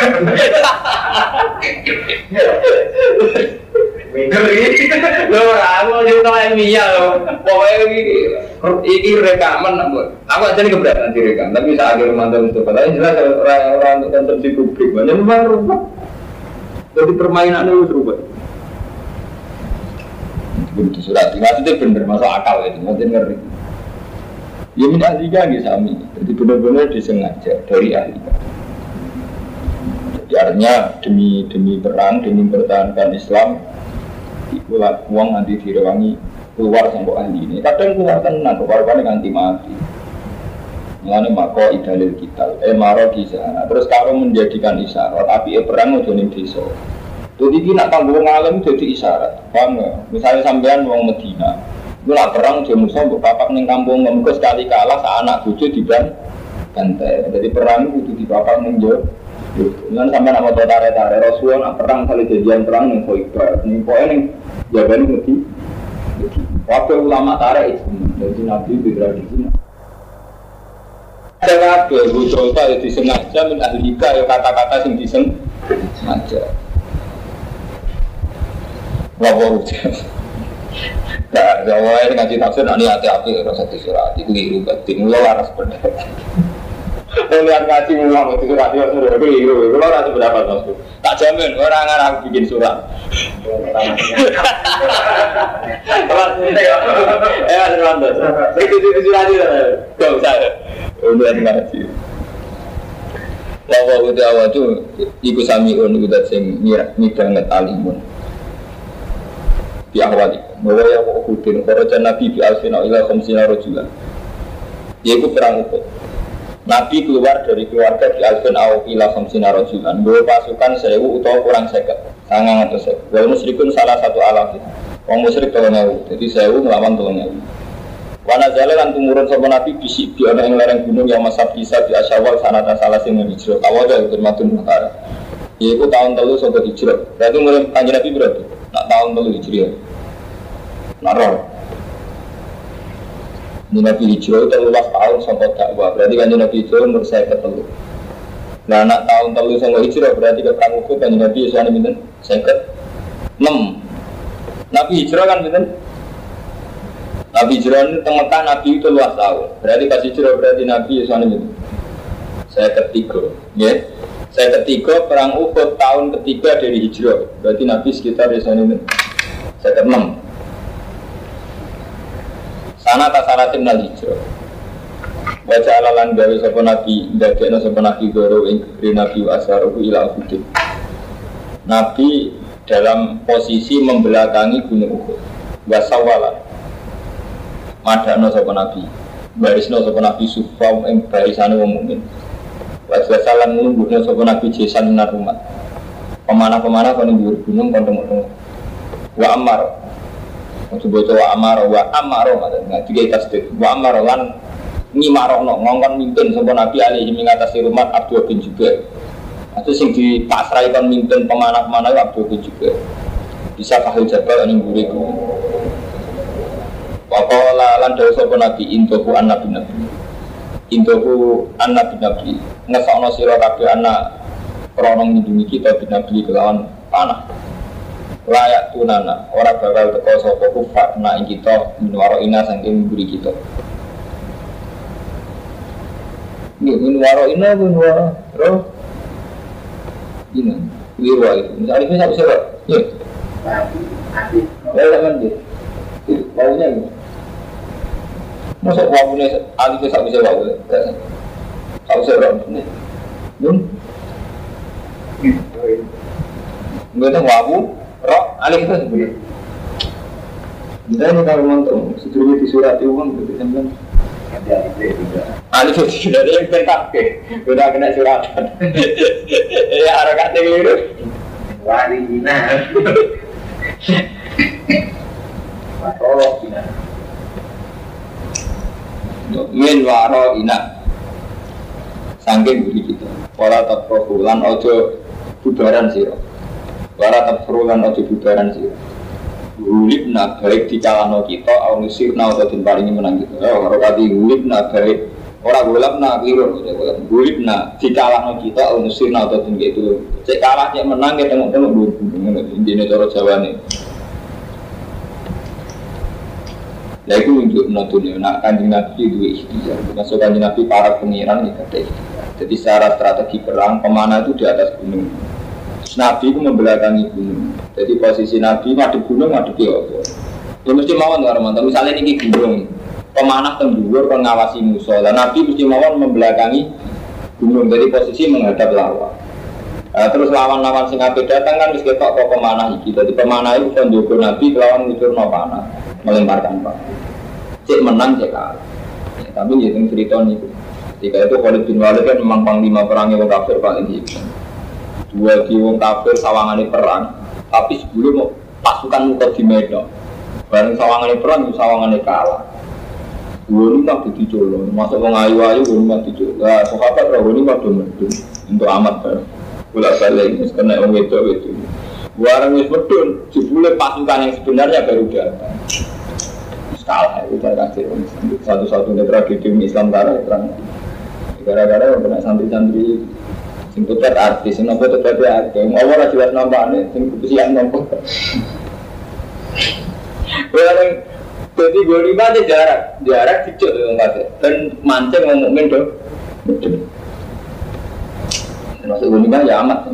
Loh, aku cerita ilmiah loh. Pokoknya ini rekaman. Aku aja ini keberatan direkam, tapi saat akhir mantap untuk katanya jelas orang untuk konsumsi publik. Banyak memang rumah. Jadi permainan itu berubah. Begitu surat, maksudnya benar, masuk akal itu, maksudnya ngeri. Ya min ahlika nggih sami. Jadi benar-benar disengaja dari ahlika. Jadi artinya demi perang, demi mempertahankan Islam, itulah uang nanti direwangi keluar sampai ahli ini. Kadang keluar tenang, keluar nganti mati. Mengenai mako idalil kita, maro kisah. Terus kalau menjadikan isyarat, tapi perang udah ning desa. Jadi kita tanggung ngalim jadi isyarat. Paham nggak? Misalnya sampean wong Medina. Gue lah perang dia musuh untuk papak neng kampung ngemukos sekali kalah anak bucu di bantai. Jadi perang itu di papak neng jauh. Dengan sampai nama tare Rasulullah perang kali jadian perang neng Khoibar. Neng poin neng jawaban ngerti. Waktu ulama tare itu jadi nabi tradisi. Ada apa? Gue coba ya disengaja min ahlika ya kata-kata yang disengaja. Wabah nah, saya ngaji tafsir, ini hati-hati rasa disurat, itu keliru batin, mula waras pendapat. Lihat ngaji mula disurat, itu keliru, mula rasa pendapat maksud. Tak jamin, orang aku bikin surat. Mas Rwanda, itu surat itu, gak usah. Lihat ngaji. Wawa udah awal itu, ikut samiun, udah sing nyidang ngetalimun. Di awal itu. Bahwa yang Uhudin, Kharajan Nabi bi alfina ila khamsina rajulan. Yaitu perang Uhud. Nabi keluar dari keluarga di alfin ila khamsina rajulan. Bawa pasukan 1000 atau kurang 50. Sangang atau 1000. Wal musyrikun salah satu alaf. Wong musyrik 3000. Jadi 1000 melawan 3000. Wana jale lan tumurun sapa Nabi bisik di ana ing lereng gunung yang masab bisa di Asyawal sanata salah sing hijrah. Awal dari termatun perkara. Yaitu tahun 3 sampai hijrah. Berarti mulai Kanjeng Nabi berarti nak tahun 3 hijrah. Naror. Nabi hijrah itu 13 tahun sampai dakwah. Berarti kan Nabi hijrah umur saya ketelu. Nah anak tahun 3 sampai hijrah berarti ke perang Uhud kan Nabi Yesus ini minta saya ke 6. Nabi hijrah kan minta. Nabi hijrah ini tengah Nabi itu 13 tahun. Berarti pas hijrah berarti Nabi Yesus ini minta saya ketiga. Ya. Saya ketiga perang Uhud tahun ketiga dari hijrah. Berarti Nabi sekitar Yesus ini minta saya ke-6. Sana tasaratin nal hijrah. Wajah alalan gawe sapa nabi, ndadekno sapa nabi goro ing nabi asaruhu ila Uhud. Nabi dalam posisi membelakangi gunung Uhud. Wasawala. Madano sapa nabi. Barisno sapa nabi sufa ing barisane wong mukmin. Wajah salan nglungguhno sapa nabi jesan nar umat. Pemanah-pemanah kon ing gunung kon temu. Wa ammar coba wa amaro maksudnya tiga tasdid wa amaro lan ngimarono ngongkon mimpin sapa Nabi alaihi mengatasi rumah Abdul bin Jubair. Itu sing dipasrahkan mimpin pemanah-pemanah Abdul bin Jubair. Bisa kahil jabal ning mburi ku. Wa qala lan dawuh sapa Nabi intoku an nabi. intoku anak binabi ngesokno sira kabeh anak krana nglindungi kita binabi kelawan panah layak tunana ora bakal teko sapa kufar na ing kita minwaro ina saking mburi kita nggih minwaro ina roh ini wirwa itu misalnya bisa bisa kok ya kan dia baunya gitu masuk wawunya alif bisa bisa wawu tak bisa roh ini nggak tahu wawu roh alif itu sebenarnya kita ini kalau nonton sebelumnya di surat itu kan begitu kan alif itu tidak ada yang terkake udah kena suratan ya harokatnya keliru warina warina min waro ina sangking budi kita wala taprofulan ojo bubaran siro wala taprofulan ojo bubaran siro hulibna baik dicalano kita aunusirna atau dimparingi menang kita kalau kati hulibna baik orang gulabna keliru hulibna dicalano kita aunusirna atau tinggi itu cek kalah cek menang kita tengok-tengok dulu ini cara Jawa nih ya itu untuk menontonnya nak kanjeng Nabi dua ikhtiar masuk kanjeng Nabi para pengiran nih kata ikhtiar jadi secara strategi perang pemanah itu di atas gunung terus Nabi itu membelakangi gunung jadi posisi Nabi madep gunung madep ya mesti mawon nggak romantis misalnya ini gunung pemanah tembur pengawasi musuh dan Nabi mesti mawon membelakangi gunung jadi posisi menghadap lawan terus lawan-lawan sing ape datang kan wis ketok kok pemanah iki dadi pemanah itu kan njogo Nabi kelawan ngucurno panah melemparkan pak cek menang cek kalah ya, tapi ya yang cerita niku ketika itu Khalid bin Walid kan memang panglima perangnya wong kafir paling hebat dua di wong kafir sawangane perang tapi sebelum pasukan muka di Medan bareng sawangane perang sawangane kalah dua ini tak dicolong masuk wong ayu-ayu dua ini dicolong lah sahabat roh ini pada medun untuk amat bareng bolak balik ini kena orang itu warang wis medun jebule pasukan yang sebenarnya baru datang kalah itu kasih satu-satunya tragedi Islam gara-gara kena santri-santri sing putet artis sing nopo tete artis ora jelas nampane sing kesian nopo warang jadi golima aja jarak dicuk dan mancing ngomong mendo masuk golima ya amat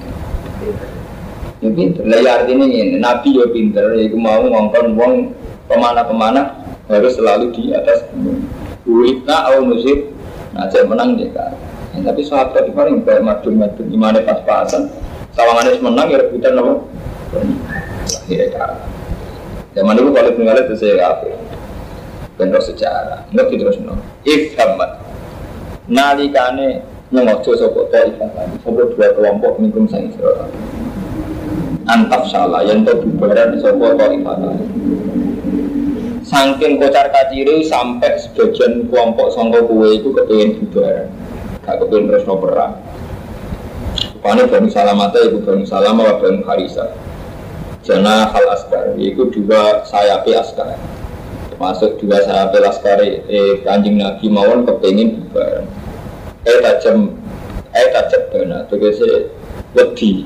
ya pinter lah ya artinya ini Nabi ya pinter ya mau ngongkon wong pemana-pemana harus selalu di atas gunung Uwitna au musib nah saya menang dia kan tapi sahabat itu paling kayak madun-madun dimana pas-pasan sawangannya menang ya rebutan apa ya kan zaman dulu kalau tinggalnya itu saya kafir bentuk sejarah ngerti terus no ifhamad nalikane nyengojo sopo ta'ifah tadi sopo dua kelompok minum sang Israel antaf salah yang terbubaran sopo ta'ifah tadi saking kocar kaciri sampai sebagian kelompok sangka kue itu kepengen bubaran gak kepengen terus no perang rupanya Bani Salamata itu Bani Salama Bani Harisa jana hal askar itu dua sayapi askar termasuk dua sayapi askar kanjeng Nabi mawon kepengen bubaran tajam benar tegese wedi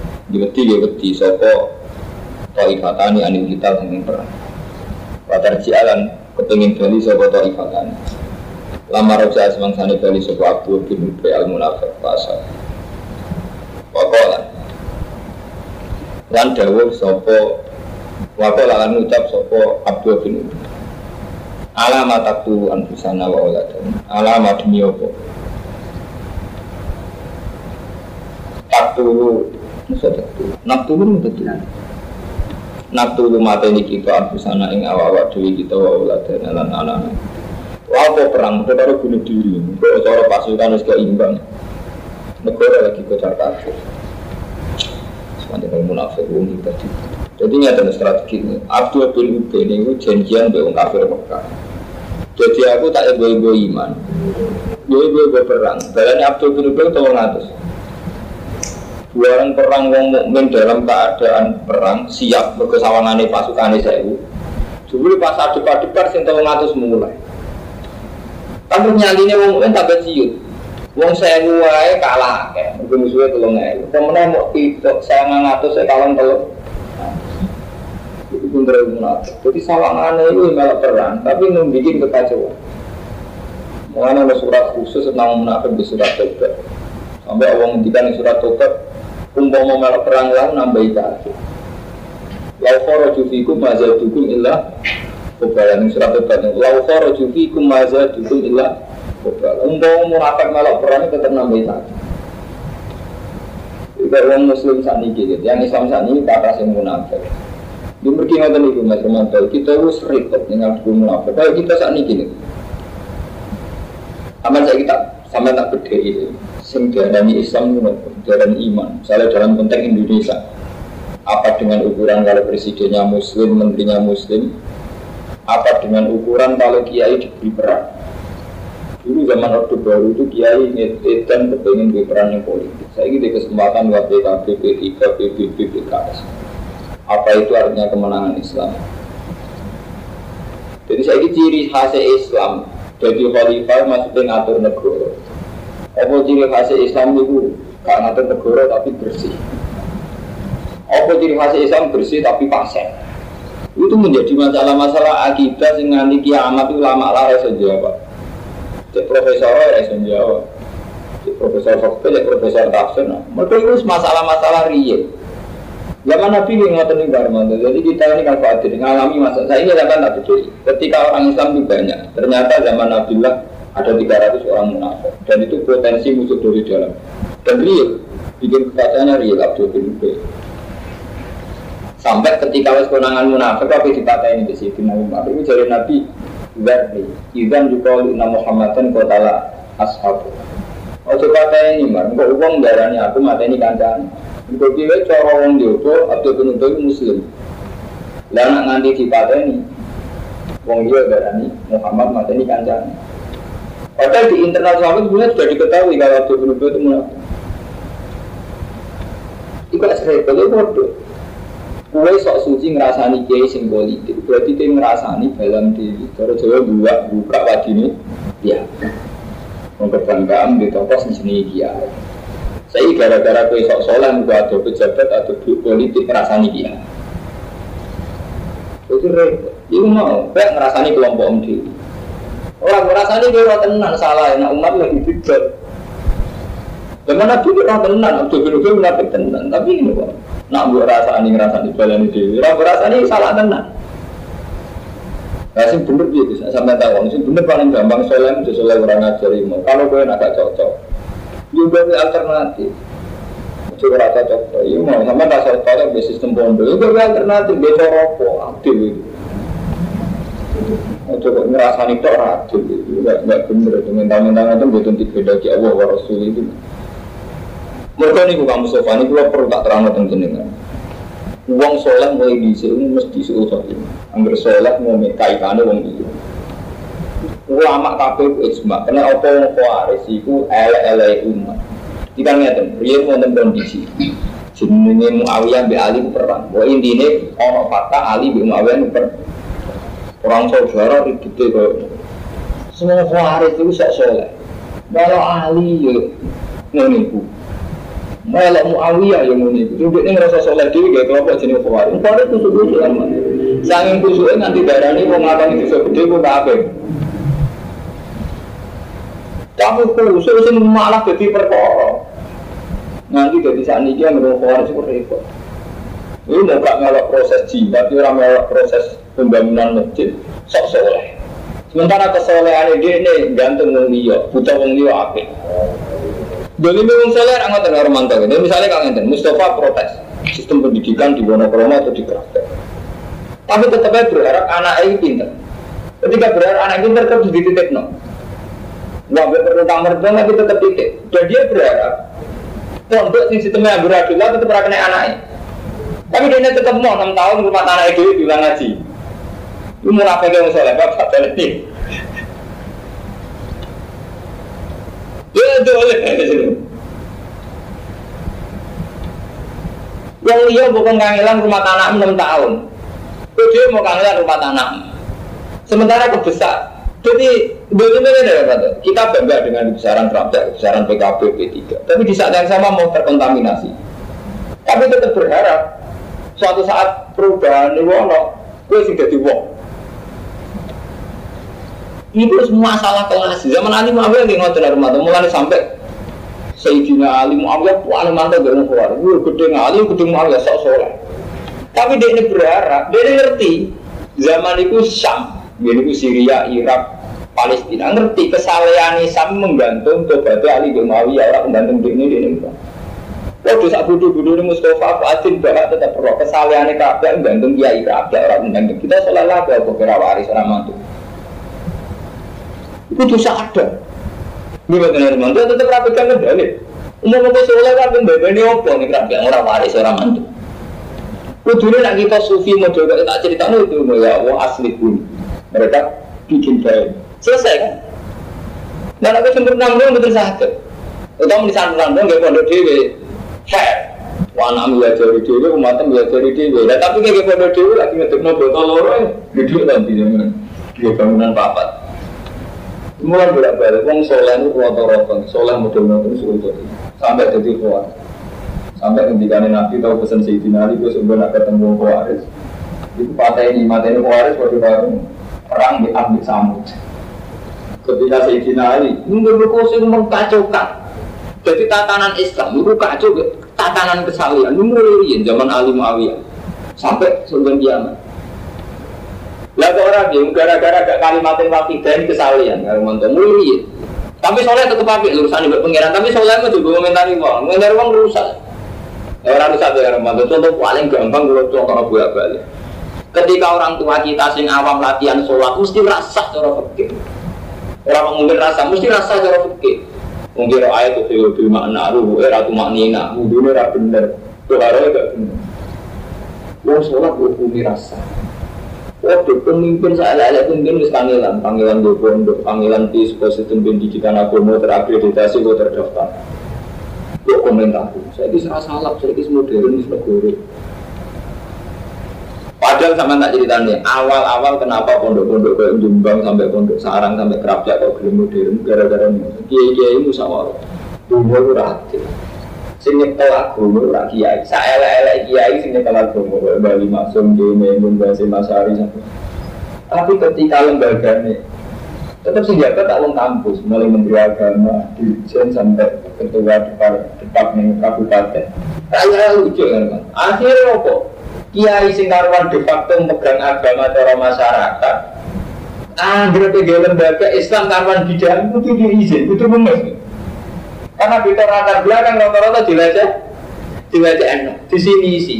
sapa taifatani anil kita sing perang watar jalan kepengin bali sapa taifatani lama roja semangsane bali sapa Abdul bin Ubay al-Munafiq pasal wakola lan dawuh sapa wakola lan ucap sapa Abdul bin Ubay alamat aku anfusana wa oladan alamat demi apa Naktulu mateni kita anfusana ing awak-awak dewi kita wa uladan lan anak-anak. Apa perang kita karo bunuh diri. Kok cara pasukan wis keimbang. Negara lagi kocar kacir. Sepanjang munafik wong iki tadi. Jadi nyata strategi ini. Abdul bin Ubay niku janjian mbek wong kafir Mekah. Jadi aku tak ego-ego iman. Ego-ego perang. Barane Abdul bin Ubay 300. Buaran perang wong mukmin dalam keadaan perang siap berkesawangane pasukane 1000. Jebule pas adep-adepan sing 300 mulai. Tapi nyantine wong mukmin tambah ciut. Wong 1000 wae kalah akeh. Musuhe 3000. Pemenang mau pitok 900 saya kalah teluk. Itu bener munafik. Jadi sawangane itu malah perang, tapi membuat kekacauan. Mengenai ada surat khusus tentang munafik di surat Tobat. Sampai Allah ngendikan di surat Tobat, umpama melok perang lan nambahi kafir. Lau kharaju fikum ma zadukum illa qabalan surat Tobat. Lau kharaju fikum ma zadukum illa qabalan. Umpama munafik melok perang tetap nambahi kafir. Jika orang muslim saat ini gitu, yang Islam saat ini kata sing munafik. Dia pergi ngoten iku Mas Romanto, kita wis repot dengan hukum munafik. Kalau kita saat ini gini. Aman saya kita sampai tak beda itu. Sing diarani Islam itu diarani iman. Misalnya dalam konteks Indonesia, apa dengan ukuran kalau presidennya Muslim, menterinya Muslim? Apa dengan ukuran kalau kiai diberi peran? Dulu zaman Orde Baru itu kiai ngedan kepengen diberi peran yang politik. Saya ini kesempatan buat PKB, P3, PBB, PKS. Apa itu artinya kemenangan Islam? Jadi saya ini ciri khas Islam. Jadi khalifah maksudnya ngatur negara. Apa ciri khas Islam itu gak ngatur negara tapi bersih. Apa ciri khas Islam bersih tapi pasien. Itu menjadi masalah-masalah akidah sing nganti kiamat itu lama lah iso jawab. Cek profesor iso jawab. Cek profesor fakta, cek profesor tafsir. Mereka itu masalah-masalah real. Zaman Nabi yang ngotot nih Garmanto, jadi kita ini kan khawatir mengalami masa. Saya ini kan tak berdiri. Ketika orang Islam itu banyak, ternyata zaman Nabi lah ada 300 orang munafik, dan itu potensi musuh dari dalam. Dan real, bikin keadaannya real Abdul bin Ubay. Sampai ketika wes konangan munafik, tapi dipatahin di situ Nabi Muhammad itu jadi Nabi Zarni, Idan juga oleh Muhammadan kotala ashabu. Oh coba ini mar, kok uang darahnya aku mata ini kancaan. Untuk dia cara orang diopo atau penuntut Muslim. Lah nak nganti dipateni, wong dia berani Muhammad mateni kancane. Padahal di internal sahabat sebenarnya sudah diketahui kalau Abdul penuntut itu munafik. Iku asrep kalau bodoh. Kue sok suci ngerasani kiai sing politik, berarti dia ngerasani dalam diri. Cara Jawa buka wadine, ya. Mengkebanggaan di toko seni kiai. Saya gara-gara kue sok solan gua ada pejabat atau politik ngerasani dia. Itu repot. Itu mau, kayak ngerasani kelompok diri. Orang ngerasani dia tenan salah, nak umat lagi bijak. Bagaimana dia orang tenan, Abdul bin Ubay munafik tenan. Tapi ini kok, nak buat ngerasani balani dewi. Orang ngerasani salah tenan. Nah, sing bener dia bisa sampai tahu. Sing bener paling gampang solan itu solan orang ngajari mau. Kalau kue nak cocok. Juga alternatif. Coba rasa cocok. Iya mau sama rasa cocok di sistem pondok. Juga alternatif. Dia rokok aktif itu. Coba ngerasani tok aktif itu. Enggak bener itu. Mentang-mentang itu betul beda di Allah wa Rasul itu. Mereka ini bukan Mustafa ini kalau perlu tak terang tentang jenengan. Uang sholat mulai disini mesti suul sholat. Angger sholat mau kaitannya uang itu. Ulama kabeh ijma, kena apa wong Khawarij iku elek-elek umat. Kita ngeten, riyen wonten kondisi. Jenenge Muawiyah mbek Ali perang. Wa intine ana fakta Ali mbek Muawiyah perang. Orang saudara ribute kok. Semua Khawarij itu sak saleh. Kalau Ali yo ngene iku. Malah Muawiyah yo ngene iku. Dheweke ngrasa saleh dhewe gak kelompok jenenge Khawarij. Khawarij itu kudu aman. Sanging kusuke nganti darani wong ngakoni dosa gedhe kok kabeh. Kamu khusus sing malah jadi perkara. Nanti jadi saat ini dia menurut seperti itu. Ini mau gak ngelak proses jimat, orang ngelak proses pembangunan masjid, sok soleh. Sementara kesolehan dia ini gantung wong liya, buta wong liya apik. Dene wong soleh ra ngoten karo mantau. Misalnya Kang Enten, Mustafa protes sistem pendidikan di Wonokromo atau di Kraton. Tapi tetap berharap anak ini pintar. Ketika berharap anak pintar terus dititikno. Nggak perlu kamar dong, tapi tetap titik. Dan dia berharap pondok sistemnya beradillah tetap kena anaknya. Tapi dia tetap mau 6 tahun rumah anak itu bilang ngaji. Itu munafik yang soleh, bapak ini. Ya itu oleh yang dia bukan kangelan rumah tanah 6 tahun. Itu dia mau kangelan rumah tanah. Sementara kebesar. Jadi bagaimana kita bangga dengan kebesaran Prabowo, kebesaran PKB, P3. Tapi di saat yang sama mau terkontaminasi. Tapi tetap berharap suatu saat perubahan ini wono, gue sih jadi wong. Itu semua masalah kelas. Zaman Ali Muawiyah yang ngotot dari mata, mulai sampai Sayyidina Ali Muawiyah paling mantap gak mau keluar. Gue gede Ali, gede Muawiyah sok soleh. Tapi dia ini berharap, dia ini ngerti zaman itu Syam, itu Syria, Irak, Palestina, ngerti kesalahan Syam menggantung tobatnya Ali bin Muawiyah, orang menggantung ini. Waduh sak bodoh-bodoh ini Mustafa Fuadin bahwa tetap perlu kesalahan Ka'bah menggantung Kiai Ka'bah orang menggantung kita sholat lagi apa kira waris orang mantu. Itu dosa ada. Gimana orang mantu tetap rapikan medali. Umum-umum sholat kan membebani apa nih Ka'bah orang waris orang mantu. Kudunya nak kita sufi mau coba tak ceritakan itu ya Allah asli pun mereka bikin baik selesai kan. Dan aku sempurna belum betul sakit. Utama di sana nggak pondok dewi, wanam belajar di dewi, umatnya belajar di dewi. Tapi kayak pondok dewi lagi ngetuk botol lorong, gede nanti zaman dia bangunan papat. Mulai bolak-balik, wong soleh itu rotor-rotor, soleh model-model suruh sampai jadi keluar. Sampai ketika Nabi tahu pesan Sayyidina Ali, gue sebenarnya nak ketemu Khawarij. Itu mata ini Khawarij waktu perang diambil Samud. Ketika Sayyidina Ali, mungkin berkosong mengkacaukan. Jadi tatanan Islam itu kacau, tatanan kesalian itu mulai zaman Ali Muawiyah sampai sebelum kiamat. Lalu orang yang gara-gara gak kalimatin wakidah ini kesalian, kalau mantu mulai. Tapi soalnya tetap pakai urusan ibadah pengiran, tapi soalnya itu juga komentari uang rusak. Orang rusak dari mantu. Contoh paling gampang kalau contoh bolak-balik. Ketika orang tua kita sing awam latihan sholat mesti rasa cara fikih. Orang mungkin rasa mesti rasa cara fikih. Mungkin ayat itu di makna ruh, ratu maknina, wudhunya tidak benar, doharanya tidak benar. Wong sholat berhubungi rasa. Waduh, pemimpin saya pemimpin wis panggilan di pondok, panggilan di ekosistem pendidikan agama terakreditasi, terdaftar. Dia komentar, saya ini salah, saya ini modern, ini negara. Padahal sama tak ceritanya, awal-awal kenapa pondok-pondok kayak Jombang sampai pondok Sarang sampai Kerapjak kok belum modern, gara-gara kiai-kiai musyawarah. Dulu itu rakyat. Sing nyetel agama ora kiai. Saelek-elek kiai sing nyetel agama Bali Maksum dene Mbah Masari sampai. Tapi ketika lembagane tetap senjata tak wong kampus, mulai Menteri Agama, Dirjen sampai ketua departemen kabupaten. Raya lucu kan? Akhirnya apa? Kiai sing karuan de facto megang agama cara masyarakat. Anggere ke lembaga Islam karuan bidang kudu diizin, kudu memes. Karena di latar belakang rata-rata dilacak enak, di sini isi.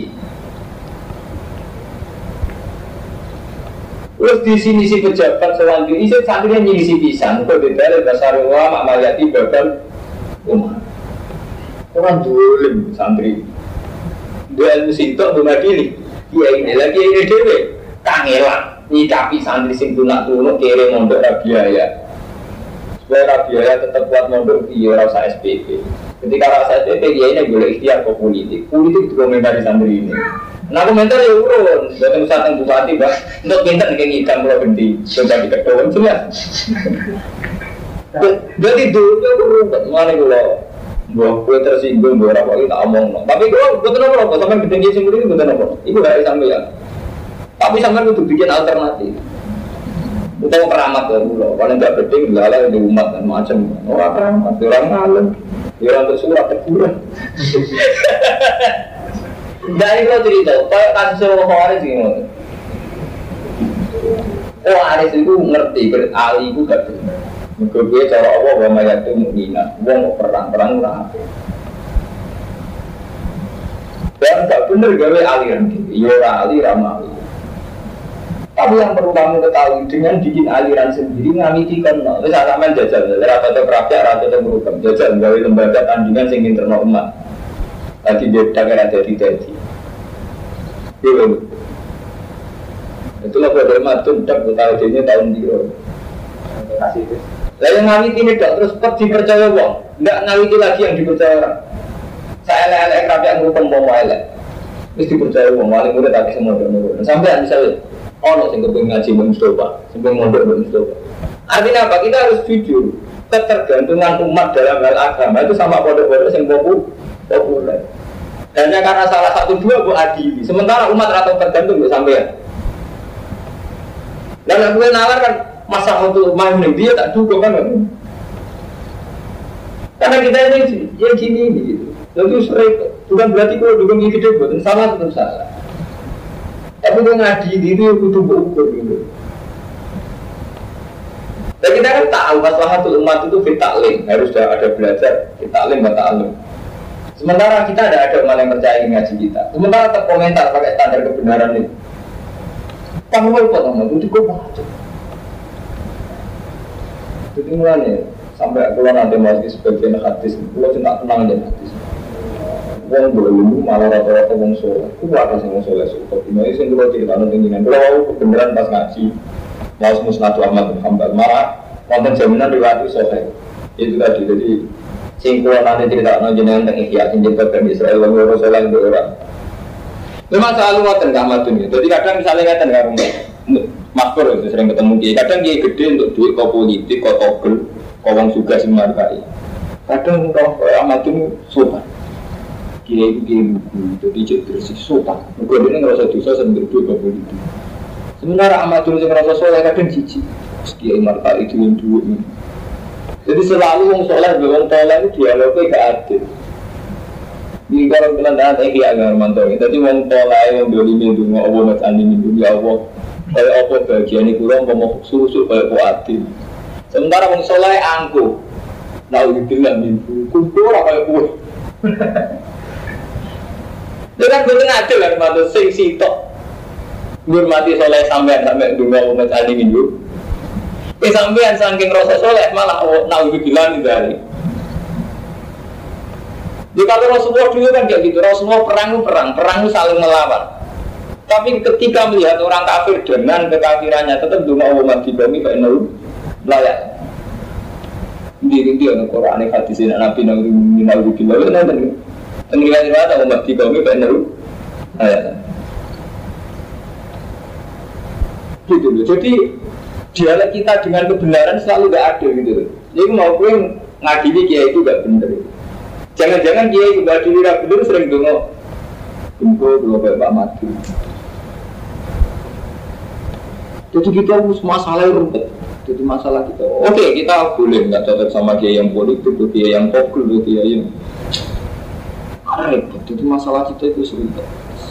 Terus di sini si pejabat selanjutnya isi santrinya nyisi pisan. Kau beda dasar ulama mamayati bakal umat. Orang dolim santri. Dua ilmu sintok bumadili. Iya ini lagi ini dewe. Kangelan nyikapi santri sing tunak-tunuk kere mondok rabiaya. Supaya rabiaya tetap kuat mondok iya rasa SPP. Ketika rasa SPP dia ini boleh ikhtiar ke politik. Politik itu komentari santri ini. Nah komentar ya urun, buatan usaha tentang bupati bah, untuk pintar kayak ngidam pulau genti, coba diketuan jelas. Jadi dulu aku rumput, mana gue tersinggung, gue rapor kita omong. Tapi gue betul apa? Sampai gede singgung ini betul apa? Ibu dari sampai ya. Tapi sampai itu bikin alternatif. Untuk keramat ya pulau, paling nggak penting lalai di umat dan macam orang keramat, orang ngalem, orang tersurat terkurang. Dari lo cerita, kayak kasus Khawarij gini. Khawarij itu ngerti, Ali itu gak benar. Mungkin cara Allah bahwa mayat itu mukminah, wong perang apa. Dan gak benar gawe aliran gitu. Ya Ali ramali. Tapi yang perlu kamu ketahui dengan bikin aliran sendiri ngamiti kan, misalnya sampean jajal, rata-rata kerapnya, rata-rata berubah, jajal gawe lembaga tandingan sing internal umat. Tadi dia dagang ada di tadi. Itulah pada matun tak tahu ini tahun biru. Lalu ngawiti ini tak terus dipercaya wong, nggak ngawiti lagi yang dipercaya orang. Saya lelek kerap yang ngurupin bawa lelek, terus dipercaya wong, paling mudah tapi semua dan sampai misalnya ono sing kepengen ngaji Mbak Mustafa, sing pengen mondok Mbak Mustafa. Artinya apa? Kita harus jujur. Ketergantungan umat dalam hal agama itu sama pondok-pondok yang populer. Hanya karena salah satu dua bu adili. Sementara umat atau tergantung bu sampean. Dan aku nalar kan masa untuk main dia tak cukup kan? Karena kita ini ya gini gitu. Lalu sering bukan berarti kalau dukung gigi gede buat salah tetap salah. Tapi kalau ngadili itu butuh ukur gitu. Dan kita kan tahu maslahatul umat itu fitaklim, harus ada belajar fitaklim atau ta'alum. Sementara kita ada umat yang percaya ngaji kita. Sementara terkomentar pakai standar kebenaran itu. Kamu lupa teman itu kok macam. Jadi mulanya sampai keluar nanti masih sebagian hadis, kalau tidak tenang aja hadis. Wong belum malah rata-rata wong soleh. Aku ada yang wong soleh suka. Ini sih kalau cerita nanti ini. Kalau kebenaran pas ngaji. Mas Musnadu Ahmad bin Hanbal malah konten jaminan riwayat sahih. Itu tadi jadi singkulan nanti cerita jenengan tentang Ihya sing diciptakan Israel lan Rasulullah itu orang. Memang selalu ngoten kamatun ya. Jadi kadang misalnya ngaten karo Makmur itu sering ketemu kiai. Kadang kiai gede untuk duit kok politik, kok togel, kok wong sugih sing markai. Kadang kok amatun sopan. Kiai itu jadi jadi sopan. Mergo dene ngrasa dosa sing duit kok politik. Sebenarnya amat dulu yang merasa soleh kadang cici. Sekian marta itu yang dua ini. Jadi selalu yang soleh dengan soleh itu dialognya gak adil. Jadi kalau kalian dah tadi agak mantau. Jadi yang soleh yang beli minum Allah macam ini minum ya Allah. Kalau apa bagian ini kurang mau susu kalau adil. Sementara yang soleh angkuh. Nah itu bilang minum kumpul apa pun. Jadi kan betul adil kan mantau sing sitok. Ngurmati soleh sampean sampai dunga umat ali minggu. Sampean saking rasa soleh malah naudzubillah min dzalik. Jadi kalau Rasulullah dulu kan kayak gitu, Rasulullah perang itu saling melawan. Tapi ketika melihat orang kafir dengan kekafirannya tetap dunga umat di bumi kayak layak. Di Al-Qur'an hadis Nabi naudzubillah nanti riwayat umat di bumi kayak layak. Gitu loh. Jadi dialog kita dengan kebenaran selalu gak ada gitu loh. Jadi mau gue ngadili kiai itu gak bener. Jangan-jangan kiai itu gak adili gak bener sering dongok kumpul Pak Mati. Jadi kita harus masalah rumput. Jadi masalah kita. Oke, kita boleh nggak cocok sama kiai yang politik, kiai yang pokok, kiai yang repot. Jadi masalah kita itu serumput.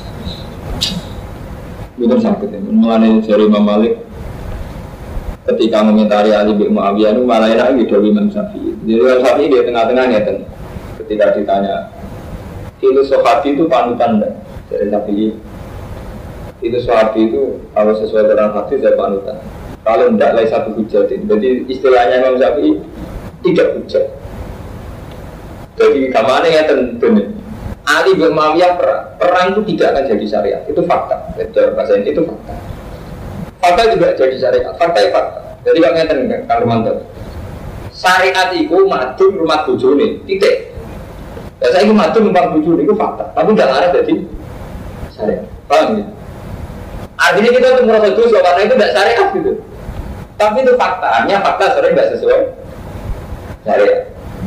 Betul sakit ya, mengenai dari Imam Malik ketika mengomentari Ali bin Muawiyah itu malah enak gitu Imam Syafi'i. Jadi Imam Syafi'i di tengah-tengahnya kan, ketika ditanya itu sahabi itu panutan dari Syafi'i. Itu sahabi itu kalau sesuai dengan hadis saya panutan. Kalau tidak lain satu hujat itu, jadi istilahnya Imam Syafi'i tidak hujat. Jadi kemana ya tentunya? Ali bin Muawiyah perang itu tidak akan jadi syariat, itu fakta. Dari bahasa ini itu fakta. Fakta juga jadi syariat, fakta ya fakta. Jadi kalau ngeten Kang Romanto, syariat itu madun rumah bojone, titik. Ya saya itu madun rumah bojone itu fakta, tapi tidak ada jadi syariat. Paham ya? Artinya kita untuk merasa dosa karena itu tidak syariat gitu. Tapi itu fakta, artinya fakta sering tidak sesuai syariat.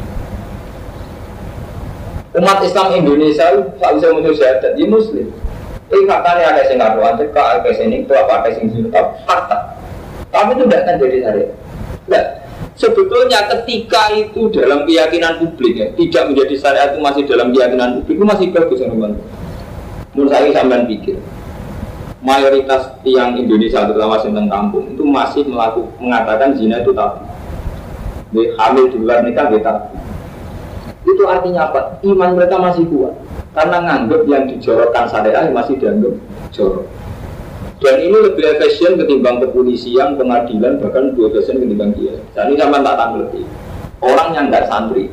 Umat Islam Indonesia tak bisa menuju syahadat di Muslim. Ini faktanya ada yang ngaruhan, ada yang itu apa, ada yang itu fakta. Tapi itu tidak akan jadi syariat. Nah, sebetulnya ketika itu dalam keyakinan publik ya, tidak menjadi syariat itu masih dalam keyakinan publik itu masih bagus teman-teman. Menurut saya sampean pikir, mayoritas yang Indonesia terutama tentang kampung itu masih mengatakan zina itu tabu. Hamil di luar nikah itu tabu. Itu artinya apa? Iman mereka masih kuat karena nganggap yang dijorokkan syariah masih dianggap jorok. Dan ini lebih efisien ketimbang kepolisian, pengadilan, bahkan lebih efisien ketimbang dia. Dan ini sama tak tanggapi. Orang yang nggak santri,